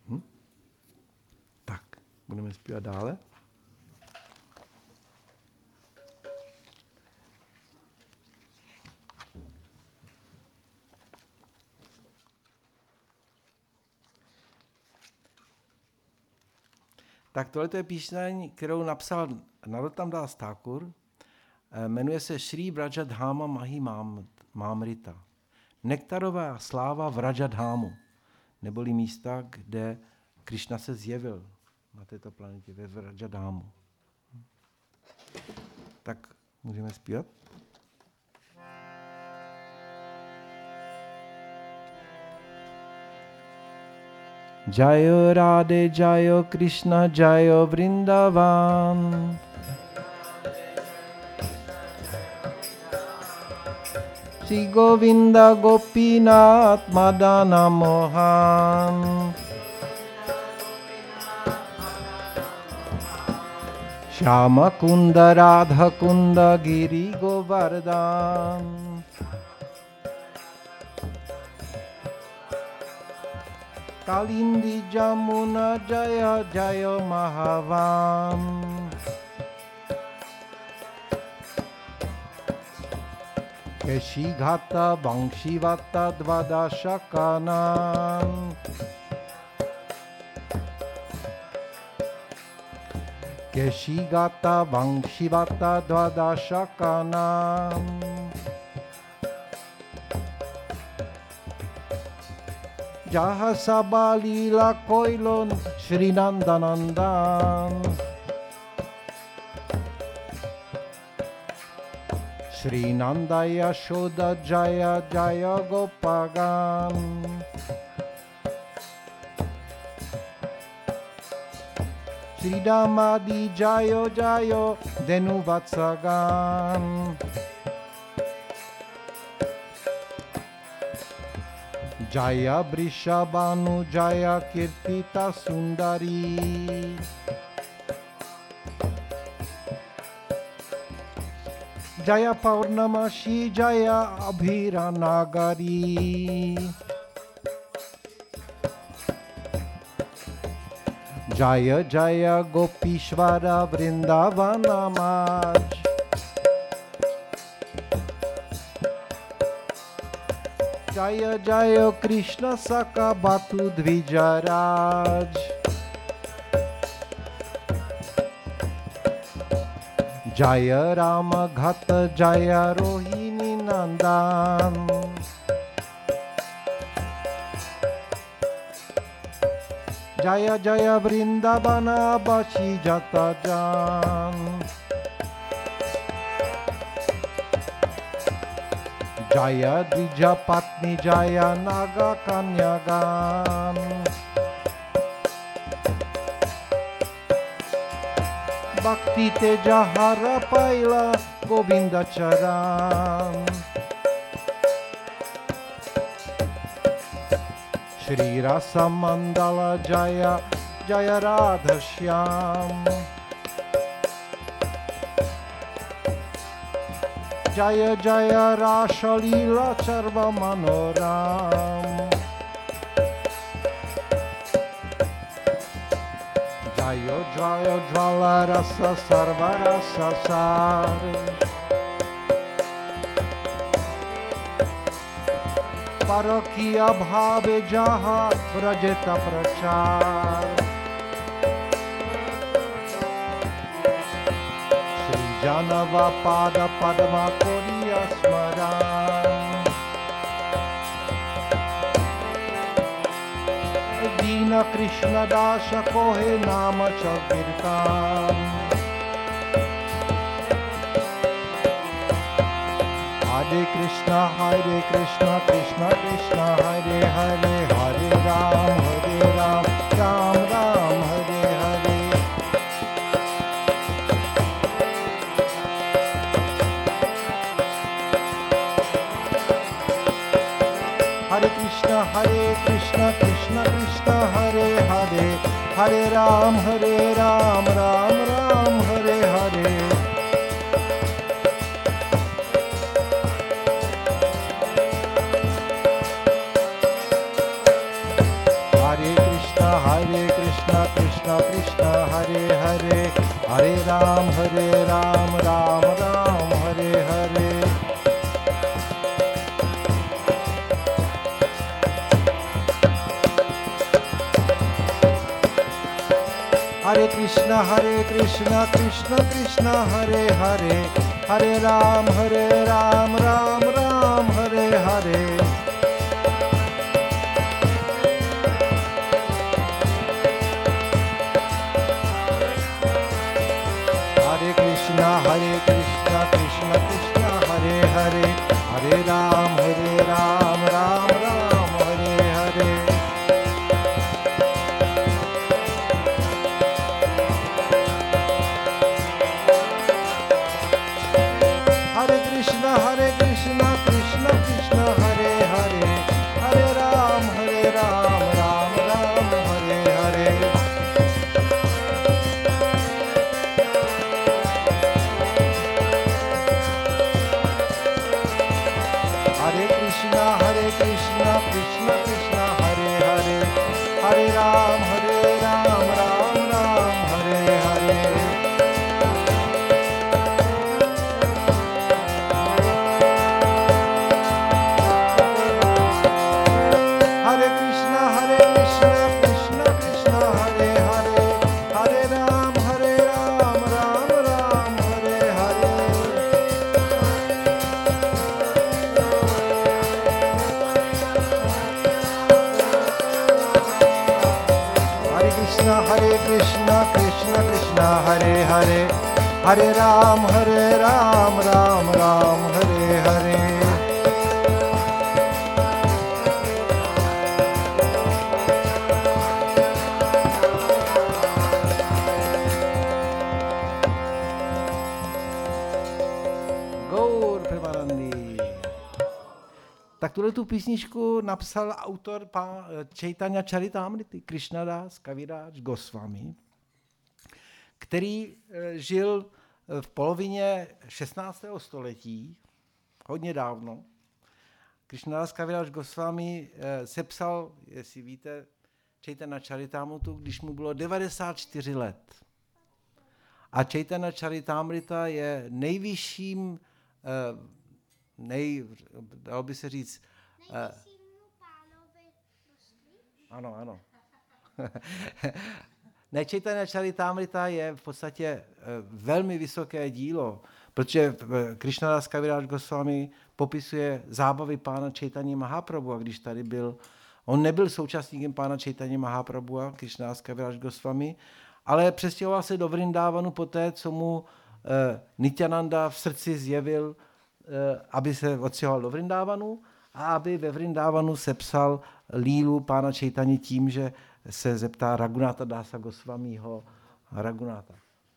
Tak, budeme zpívat dále. Tak tohle je píseň, kterou napsal Narottam Das Thakur. Jmenuje se Shri Vrajadhama Mahi Mamrita. Nektarová sláva Vrajadhámu, neboli místa, kde Krišna se zjevil na této planetě, ve Vrajadhámu. Tak můžeme zpívat? Jayo Radhe, Jayo Krishna, Jayo Vrindavan. Shri Govinda Gopinath Madana Mohan. Shyama Kunda Radha Kunda Giri Govardhan. Kalindi Jamuna Jaya Jaya Mahavan. Keshighata Vanshivata Dvadashakanam. Keshighata Vanshivata Dvadashakanam. Jaha Sabalila Koilon Shri Nandanandan. Shri Nanda Yashoda Jaya Jaya Gopagan. Shri Damadi Jayo Jayo Denuvatsagan. Jaya Vrishabhanu Jaya Kirtita Sundari. Jaya Paurnamashi Jaya Abhira Nagari. Jaya Jaya Gopishvara Vrindavana Maj. Jaya Jaya Krishna Saka Batu Dvijaraj. Jaya Rama Ghat Jaya Rohini Nandan. Jaya Jaya Vrindavana Bashi Jata Jan. Jaya Dvija Patni Jaya Naga Kanyagan. Bhakti Teja Hara Paila Govinda Charan. Shri Rasa Mandala Jaya Jaya Radha Shyam. Jaya Jaya Rasha Lila Charva Manoram. Jaya Jaya Jvala Rasa Sarva Rasa Sar. Parakiya Bhave Jaha Vrajeta Prachar. Shri Janava Pada Padma Koriya Smaran. Dina Krishna Dasha Kohe Nama Chakirtan. Hare Krishna, Krishna Krishna, Hare Hare, Hare Ram, Ram Ram, Hare Hare. Hare Krishna, Krishna Krishna, Hare Hare, Hare Ram, Ram Ram, Hare Hare. Krishna Krishna, Hare Hare, Hare Ram, Ram Ram, Hare Hare. Hare Krishna, Krishna Krishna, Hare Hare, Hare Ram, Ram Ram, Hare Hare. Hare Krishna, Krishna, Hare Hare, Hare Ram, Ram Ram, Hare Hare. Hare Krishna, Krishna Krishna, Hare Hare, Hare Ram, Ram Ram, Hare Hare. Krishna, Krishna, Hare Hare, Hare Ram, Ram Ram, Hare Hare. Hare Krishna, Krishna Krishna, Hare Hare, Hare Ram, Ram Ram, Hare Hare. Hare Krishna, Krishna, Hare Hare, Hare Ram, Ram Ram, Hare Hare. Gaur Premanandi. Tak tu písničku napsal autor Chaitanya Charitamrity, Krishnadas Kaviraj Goswami, který žil v polovině 16. století, hodně dávno. Krishnadas Kaviraj Goswami sepsal, jestli víte, Chaitanya Charitamritu, když mu bylo 94 let. A Chaitanya Charitamrita je nejvyšším, dalo by se říct... Ano. Chaitanya Charitamrita je v podstatě velmi vysoké dílo, protože Krishnadas Kaviraj Goswami popisuje zábavy pána Chaitanya Mahaprabhu, a když tady byl, on nebyl současníkem pána Chaitanya Mahaprabhu, Krishnadas Kaviraj Goswami, ale přestěhoval se do Vrindávanu poté, co mu Nityananda v srdci zjevil aby se odstěhoval do Vrindávanu a aby ve Vrindávanu sepsal lílu pána Čejtani tím, že se zeptá Raghunatha Dasa Goswamiho Raghunatha.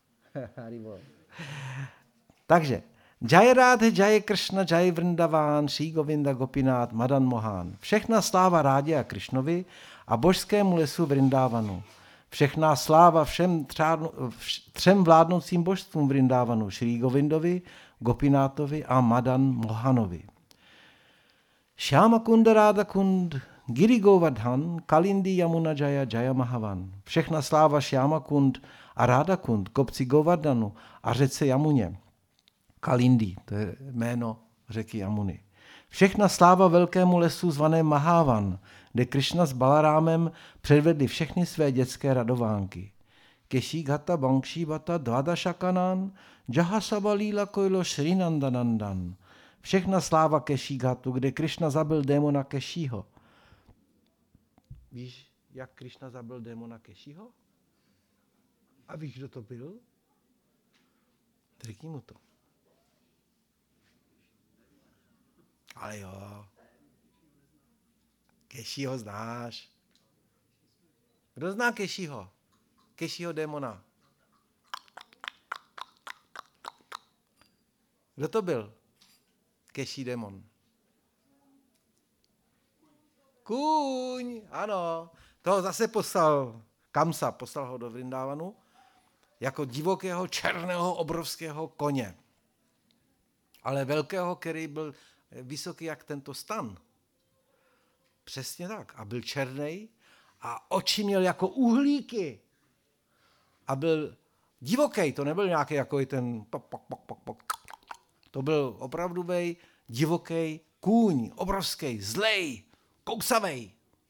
Takže Jai Radhe, Jai Krishna, Jai Vrindavan, Shri Govinda Gopinath, Madan Mohan. Všechna sláva Rádě a Krišnovi a božskému lesu Vrindávanu. Všechna sláva třem vládnoucím božstvům Vrindávanu, Shri Govindovi, Gopináthovi a Madan Mohanovi. Shyama Kunda Radha Kund, Giri Govardhan, Kalindi Yamuna Jaya Jaya Mahavan. Všechna sláva Shyama Kund a Radha Kund, kopci Govardhanu a řece Jamuně. Kalindi, to je jméno řeky Jamuny. Všechna sláva velkému lesu zvané Mahavan, kde Krišna s Balarámem předvedli všechny své dětské radovánky. Keshigata Bankshibata Dvadashakanan, Jahasabalila Koilo Shrinandanandan. Všechna sláva Keshigatu, kde Krišna zabil démona Kešího. Víš, jak Krišna zabil démona Kešího? A víš, kdo to byl? Řekni mu to. Ale jo. Kešího znáš. Kdo zná Kešího? Kešího démona. Kdo to byl? Keší démon. Kůň, ano. Toho zase poslal Kamsa, poslal ho do Vrindávanu jako divokého, černého, obrovského koně. Ale velkého, který byl vysoký jak tento stan. Přesně tak. A byl černý a oči měl jako uhlíky. A byl divoký, to nebyl nějaký jako ten pok. To byl opravdový divoký kůň, obrovský, zlej, kousavej.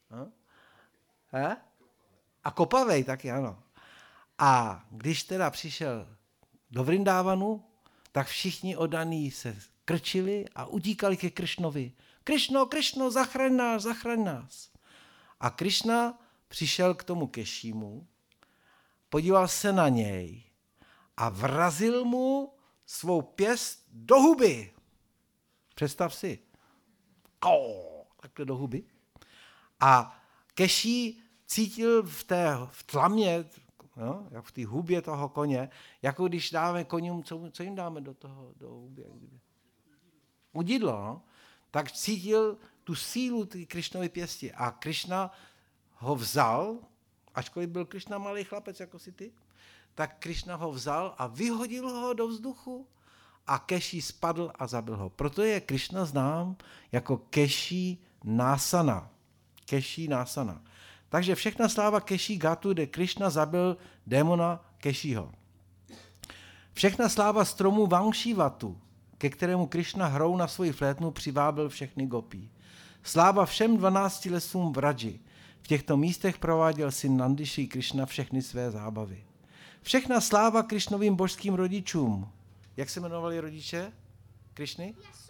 A kopavej taky, ano. A když teda přišel do Vrindávanu, tak všichni oddaní se krčili a utíkali ke Krišnovi. Krišno, Krišno, zachraň nás. A Krišna přišel k tomu Kešímu, podíval se na něj a vrazil mu svou pěst do huby. Představ si. Takhle do huby. A Keší cítil v tlamě, no, jak v té hubě toho koně, jako když dáme koním, co jim dáme do huby? Udidlo, no? Tak cítil tu sílu té Krišnovy pěsti a Krišna ho vzal, ačkoliv byl Krišna malý chlapec jako si ty, tak Krišna ho vzal a vyhodil ho do vzduchu a Keší spadl a zabil ho. Proto je Krišna znám jako Keší Násana. Keší Násana. Takže všechna sláva Keší Gatu, kde Krišna zabil démona Kešího. Všechna sláva stromu Vangšivatu, ke kterému Krišna hrou na svoji flétnu přivábil všechny gopí. Sláva všem 12 lesům v Radži. V těchto místech prováděl syn Nandy Šrí Krišna všechny své zábavy. Všechna sláva Krišnovým božským rodičům. Jak se jmenovali rodiče Krišny?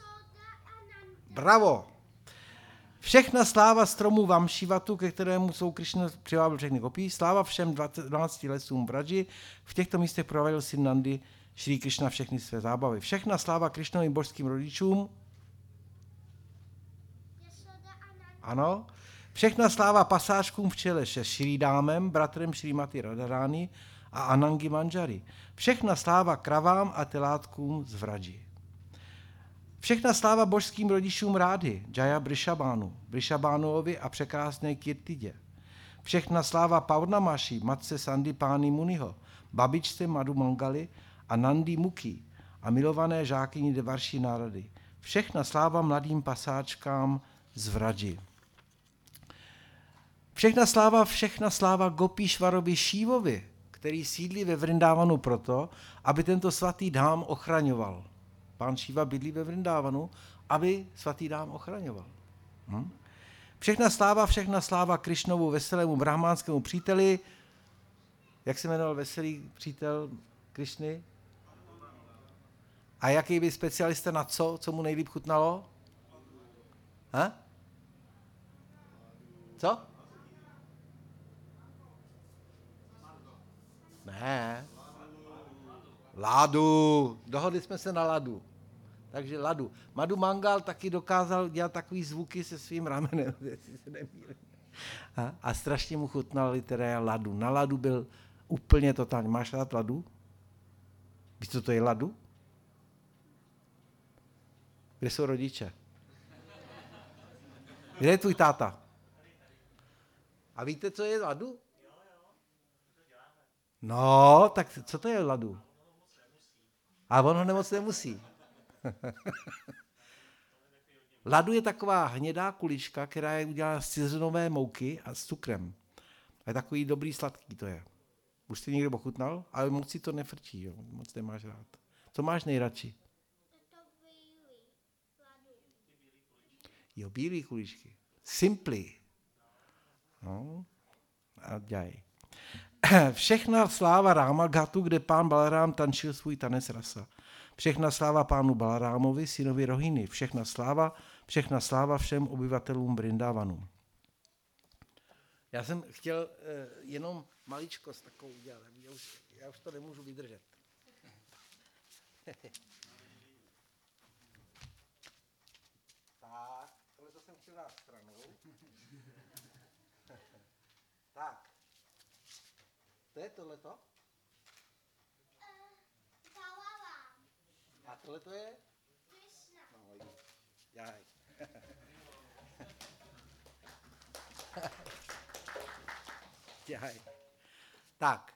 Bravo! Všechna sláva stromu Vamšivatu, ke kterému jsou Krišna přivábil všechny gopí. Sláva všem 12 lesům v Radži. V těchto místech prováděl syn Nandy Šrí Krišna všechny své zábavy. Všechna sláva Krišnovým božským rodičům. Ano. Všechna sláva pasáčkům v čele se Šrídámem, bratrem Šrímati Radharani a Anangi Manžari. Všechna sláva kravám a telátkům z Vraji. Všechna sláva božským rodičům Rády, Jaya Brishabánuovi a překrásné Kirtidě. Všechna sláva Paurnamaši, matce Sandipány Muniho, babičce Madhu Mangali a Nandi Mukhi a milované žákyni Devarší Nárady. Všechna sláva mladým pasáčkám z Vraji. Všechna sláva Gopíšvarovi Šívovi, který sídlí ve Vrindávanu proto, aby tento svatý dhám ochraňoval. Pán Šíva bydlí ve Vrindávanu, aby svatý dhám ochraňoval. Všechna sláva Krišnovu veselému brahmánskému příteli. Jak se jmenoval veselý přítel Krišny? A jaký byl specialista na co mu nejlíp chutnalo? Co? Ne. Ládu. Dohodli jsme se na ladu. Takže Ladu. Madhu Mangal taky dokázal dělat takový zvuky se svým ramenem, jestli se nemýlím. A strašně mu chutnal teda Ladu. Na Ladu byl úplně totálně. Máš rád Ladu? Víš, co to je Ladu? Kde jsou rodiče? Kde je tvůj táta? A víte, co je Ladu? No, tak co to je Ladu? A on ho nemoc nemusí. Ladu je taková hnědá kulička, která je udělána z cizinové mouky a s cukrem. A je takový dobrý sladký to je. Už jsi někdo ochutnal? Ale moc si to nefrčí, jo? Moc nemáš rád. Co máš nejradši? Jo, bílý kuličky. Simply. No, a dělej. Všechna sláva Rámagatu, kde pán Balarám tančil svůj tanec rasa. Všechna sláva pánu Balarámovi, synovi Rohiny. Všechna sláva všem obyvatelům Vrindavanu. Já jsem chtěl jenom maličkost takovou udělat. Já už to nemůžu vydržet. Tak, tohle to jsem chtěl dát stranou. Tak. To je tohleto? A tohle to je? Krishna. No, jaj. Jaj. Tak.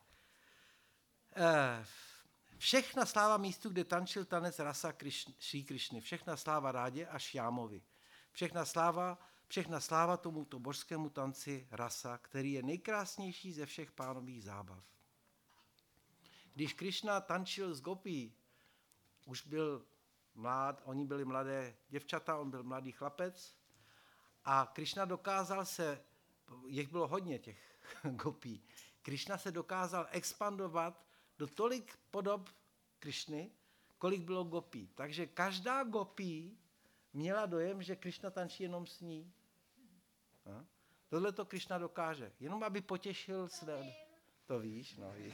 Všechna sláva místu, kde tančil tanec rasa Šrí Krišny. Všechna sláva Rádě a Šjámovi. Všechna sláva tomuto božskému tanci rasa, který je nejkrásnější ze všech pánových zábav. Když Krišna tančil s Gopí, už byl mlád, oni byli mladé děvčata, on byl mladý chlapec a Krišna dokázal se, jich bylo hodně těch Gopí, Krišna se dokázal expandovat do tolik podob Krišny, kolik bylo Gopí. Takže každá Gopí měla dojem, že Krišna tančí jenom s ní. Tohle to Krišna dokáže, jenom aby potěšil své... To víš, no víš.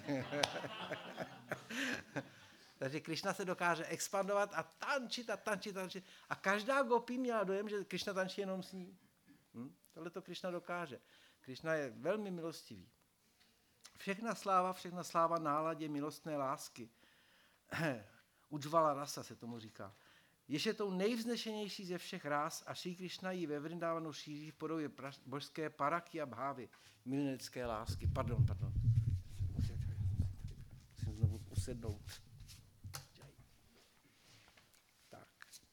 Takže Krišna se dokáže expandovat a tančit. A každá Gopí měla dojem, že Krišna tančí jenom s ní. Tohle to Krišna dokáže. Krišna je velmi milostivý. Všechna sláva náladě milostné lásky. Ujvala rasa se tomu říká. Jež je tou nejvznešenější ze všech rás a Šrí Krišna ji ve Vrindavanu šíří v podobě božské paraky a bhávy, milenecké lásky. Pardon. Musím znovu usednout. Tak.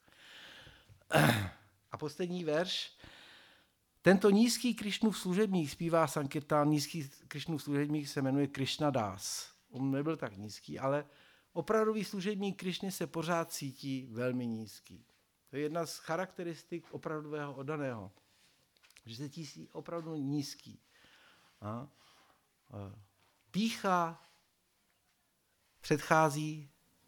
A poslední verš. Tento nízký Krišnův služebník zpívá Sankirtán, nízký Krišnův služebník se jmenuje Krishna Das. On nebyl tak nízký, ale opravdový služebník Krišny se pořád cítí velmi nízký. To je jedna z charakteristik opravdového oddaného, že se cítí opravdu nízký. Pýcha předchází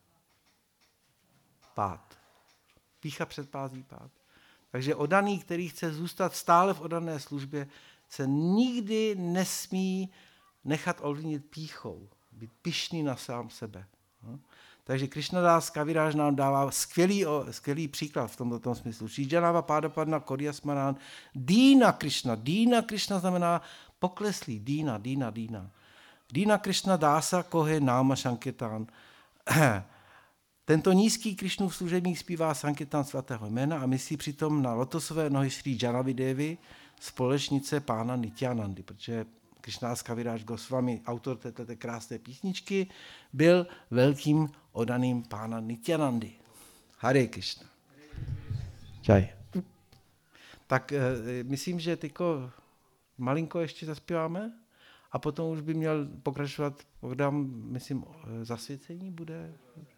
pád. Pýcha předchází pád. Takže oddaný, který chce zůstat stále v oddané službě, se nikdy nesmí nechat ovlivnit pýchou, být pyšný na sám sebe. Takže Krishnadas Kaviraj nám dává skvělý příklad v tomto smyslu. Šíjanava Pádapadna Koryasmaran Dýna Krishna. Dýna Krishna znamená pokleslý. Dýna. Dýna Krishna Dása Kohe Náma Sankirtán. Tento nízký Krishnův služebník zpívá Sankirtán svatého jména a myslí přitom na lotosové nohy Srí Janavi Devi, společnice pána Nityanandy, protože Krishnadas Kaviraj Goswami, autor této krásné písničky, byl velkým oddaným pána Nityanandy. Hare Krishna. Čaj. Tak myslím, že tyko malinko ještě zaspíváme a potom už by měl pokračovat program, myslím, zasvěcení bude...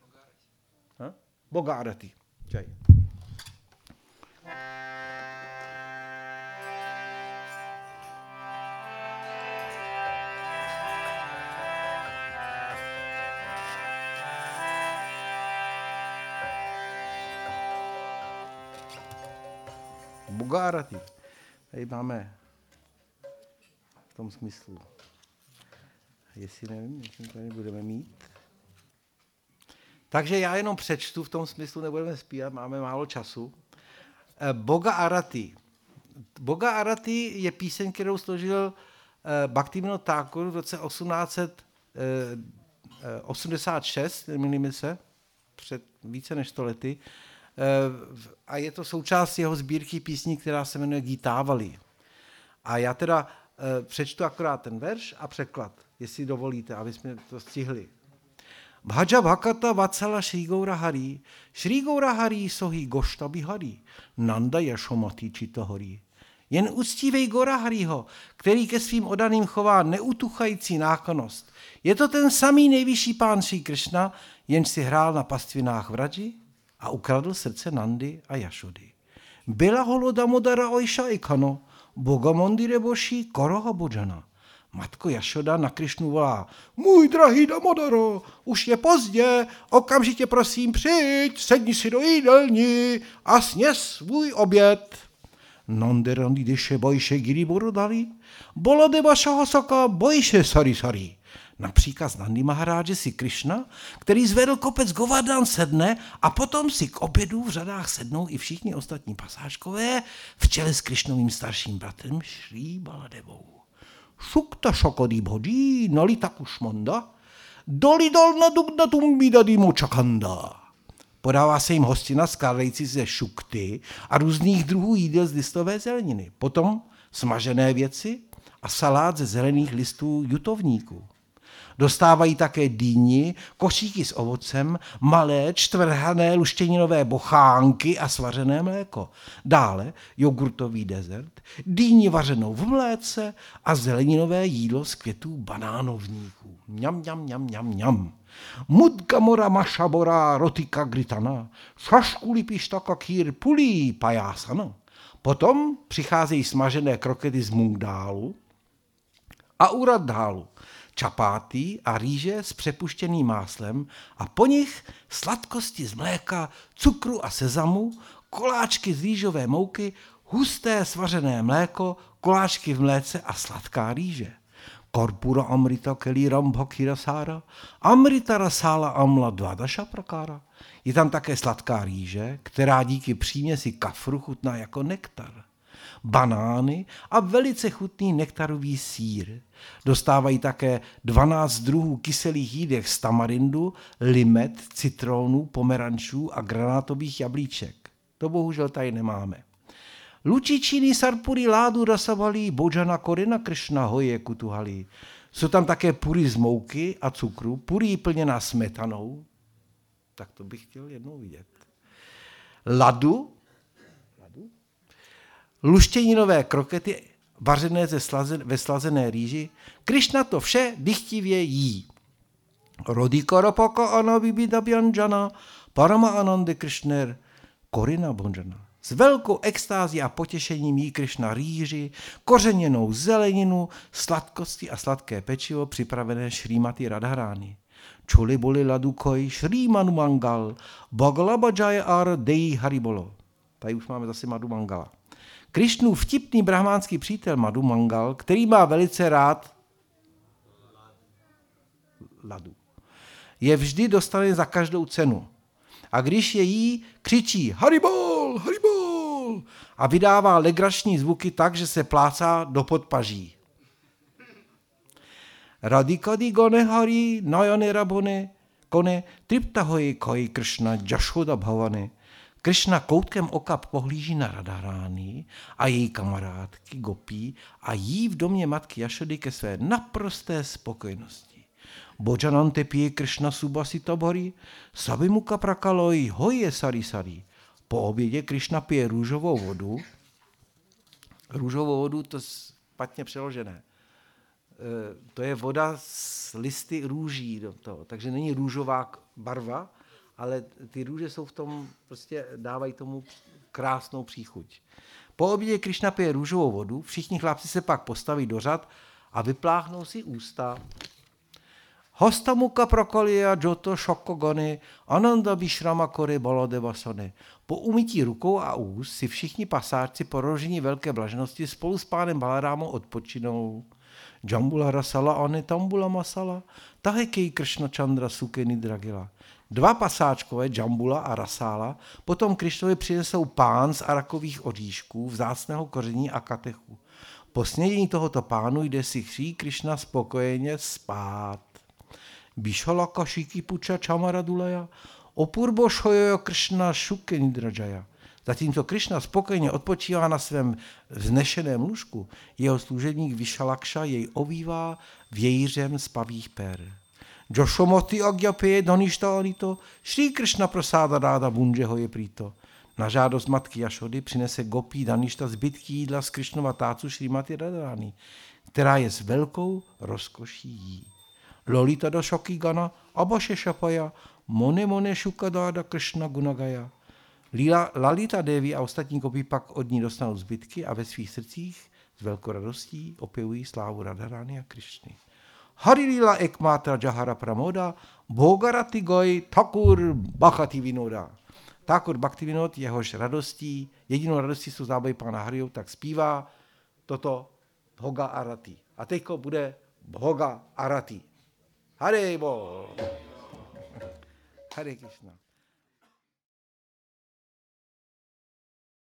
Boga Arati. Čaj. Boga Arati. Tady máme v tom smyslu. Jestli nevím, jestli to nebudeme mít. Takže já jenom přečtu, v tom smyslu nebudeme zpívat, máme málo času. Boga Arati. Boga Arati je píseň, kterou složil Bhaktivinoda Thakur v roce 1886, nemýlím se, před více než 100 lety. A je to součást jeho sbírky písní, která se jmenuje Gítávali. A já teda přečtu akorát ten verš a překlad, jestli dovolíte, aby jsme to stihli. Bhaja Bhakata Vatsala Shri Gaura Hari Sohi Goshta Bihari, Nanda Yashomati Chitahari. Jen uctívej Gora Hariho, který ke svým odaným chová neutuchající náklonost. Je to ten samý nejvyšší pán Šrí Kršna, jenž si hrál na pastvinách Vraji a ukradl srdce Nandy a Jašody. Byla holo Damodara Ojša Ikano, Boga Mondire Boši Koroha Bodžana. Matko Jašoda na Krišnu volá: Můj drahý Damodaro, už je pozdě, okamžitě prosím přijď, sedni si do jídelní a sněz svůj oběd. Nanderandi deše bojše giri borodali, bolade vašaho soka bojše sari sari. Na příkaz Nandy Maharáže si Krišna, který zvedl kopec Govardhan, sedne a potom si k obědu v řadách sednou i všichni ostatní pasážkové v čele s Krišnovým starším bratrem Šrí Baladevou. Šukta šokody bhodí, nalita kušmanda, dolidol na dugna tumbidady močakanda. Podává se jim hostina skládající ze šukty a různých druhů jídel z listové zeleniny. Potom smažené věci a salát ze zelených listů jutovníků. Dostávají také dýni, košíky s ovocem, malé čtvrhané luštěninové bochánky a svařené mléko. Dále jogurtový dezert, dýni vařenou v mléce a zeleninové jídlo z květů banánovníků. Mňam, mňam, mňam, mňam, mňam. Mudgamora mašabora rotika gritana, šaškuli pištaka kýr pulí pajásana. Potom přicházejí smažené krokety z mungdálu a uraddálu, čapáty a rýže s přepuštěným máslem a po nich sladkosti z mléka, cukru a sezamu, koláčky z rýžové mouky, husté svařené mléko, koláčky v mléce a sladká rýže. Korpura amrita keli rambhakira sára, amrita rasála amla dvadaša prakára. Je tam také sladká rýže, která díky příměsi kafru chutná jako nektar. Banány a velice chutný nektarový sýr. Dostávají také 12 druhů kyselých jídek z tamarindu, limet, citrónu, pomerančů a granátových jablíček. To bohužel tady nemáme. Lučičiny sarpuri ládu rasavali, bodžana korina Kršna hoje kutuhali. Jsou tam také pury z mouky a cukru, pury plněná smetanou. Tak to bych chtěl jednou vidět. Ladu, luštěninové krokety vařené ve slazené rýži. Krišna to vše dychtivě jí. Rodikarapaka anabibidabjanjana, parama anande Kršner, korina bonjana. S velkou extází a potěšením jí Krišna rýži, kořeněnou zeleninu, sladkosti a sladké pečivo připravené Šrímati Radharány. Čuli boli ladukoj Šrímanu Mangal, Bagalabajaya ar Dei Haribolo. Tady už máme zase Madhu Mangala. Krišnův vtipný brahmánský přítel Madhu Mangal, který má velice rád ladu, je vždy dostaný za každou cenu. A když je jí, křičí Haribol, Haribol a vydává legrační zvuky tak, že se plácá do podpaží. Radikadi gone hari najane rabone kone triptahoji koi Kršna Jashoda bhavane. Kršna koutkem oka pohlíží na Radharány a její kamarádky Gopí a jí v domě matky Jašody ke své naprosté spokojenosti. Bodžanante pije Kršna subasita bhari, sabimuka prakaloj hoje sari sari. Po obědě Kršna pije růžovou vodu. Růžovou vodu, to je špatně přeložené. To je voda s listy růží do toho, takže není růžová barva, ale ty růže jsou v tom, prostě dávají tomu krásnou příchuť. Po obědě Krišna pije růžovou vodu, všichni chlapci se pak postaví do řad a vypláchnou si ústa. Hostamuka prokolia joto šokogony ananda vishrama kore baladevasane. Po umytí rukou a úst si všichni pasáčci po rožení velké blaženosti spolu s pánem Balarámou odpočinou. Jambula rasala ane tambula masala, tahekej Kršna Chandra sukeny dragila. Dva pasáčkové, Jambula a Rasála, potom Krišnovi přinesou pán z arakových oříšků, vzácného koření a katechu. Po snědení tohoto pánu jde si Srí Krišna spokojeně spát. Bishalaka Shiki Pucha Chamaradulaya, Opurbo Shoyo Kršna Shukenidrajaya. Zatímco Krišna spokojeně odpočívá na svém vznešeném lůžku, jeho služebník Vishalakša jej ovívá vějířem z pavých per. Joshomoti agyape doništa anito, Shri Kršna prasáda ráda bunžeho je prýto. Na žádost matky Jašody přinese Gopí Daništa zbytky jídla z Krišnova tácu Šrimati Radharani, která je s velkou rozkoší jí. Lolita do Shokigana, Abhaše Šapaja, Mone Šukadáda Kršna Gunagaya. Lalita Devi a ostatní Gopí pak od ní dostanou zbytky a ve svých srdcích s velkou radostí opěvují slávu Radharani a Krišny. Harilila Ekmatra Jahara Pramoda, Bhogarati Goy Thakur Bhakti Vinoda. Thakur Bhakti Vinod, jehož radostí, jedinou radostí jsou zábavy pána Hariho, tak zpívá toto Bhoga Arati. A teďko bude Bhoga Arati. Hare Bo. Hare Krishna.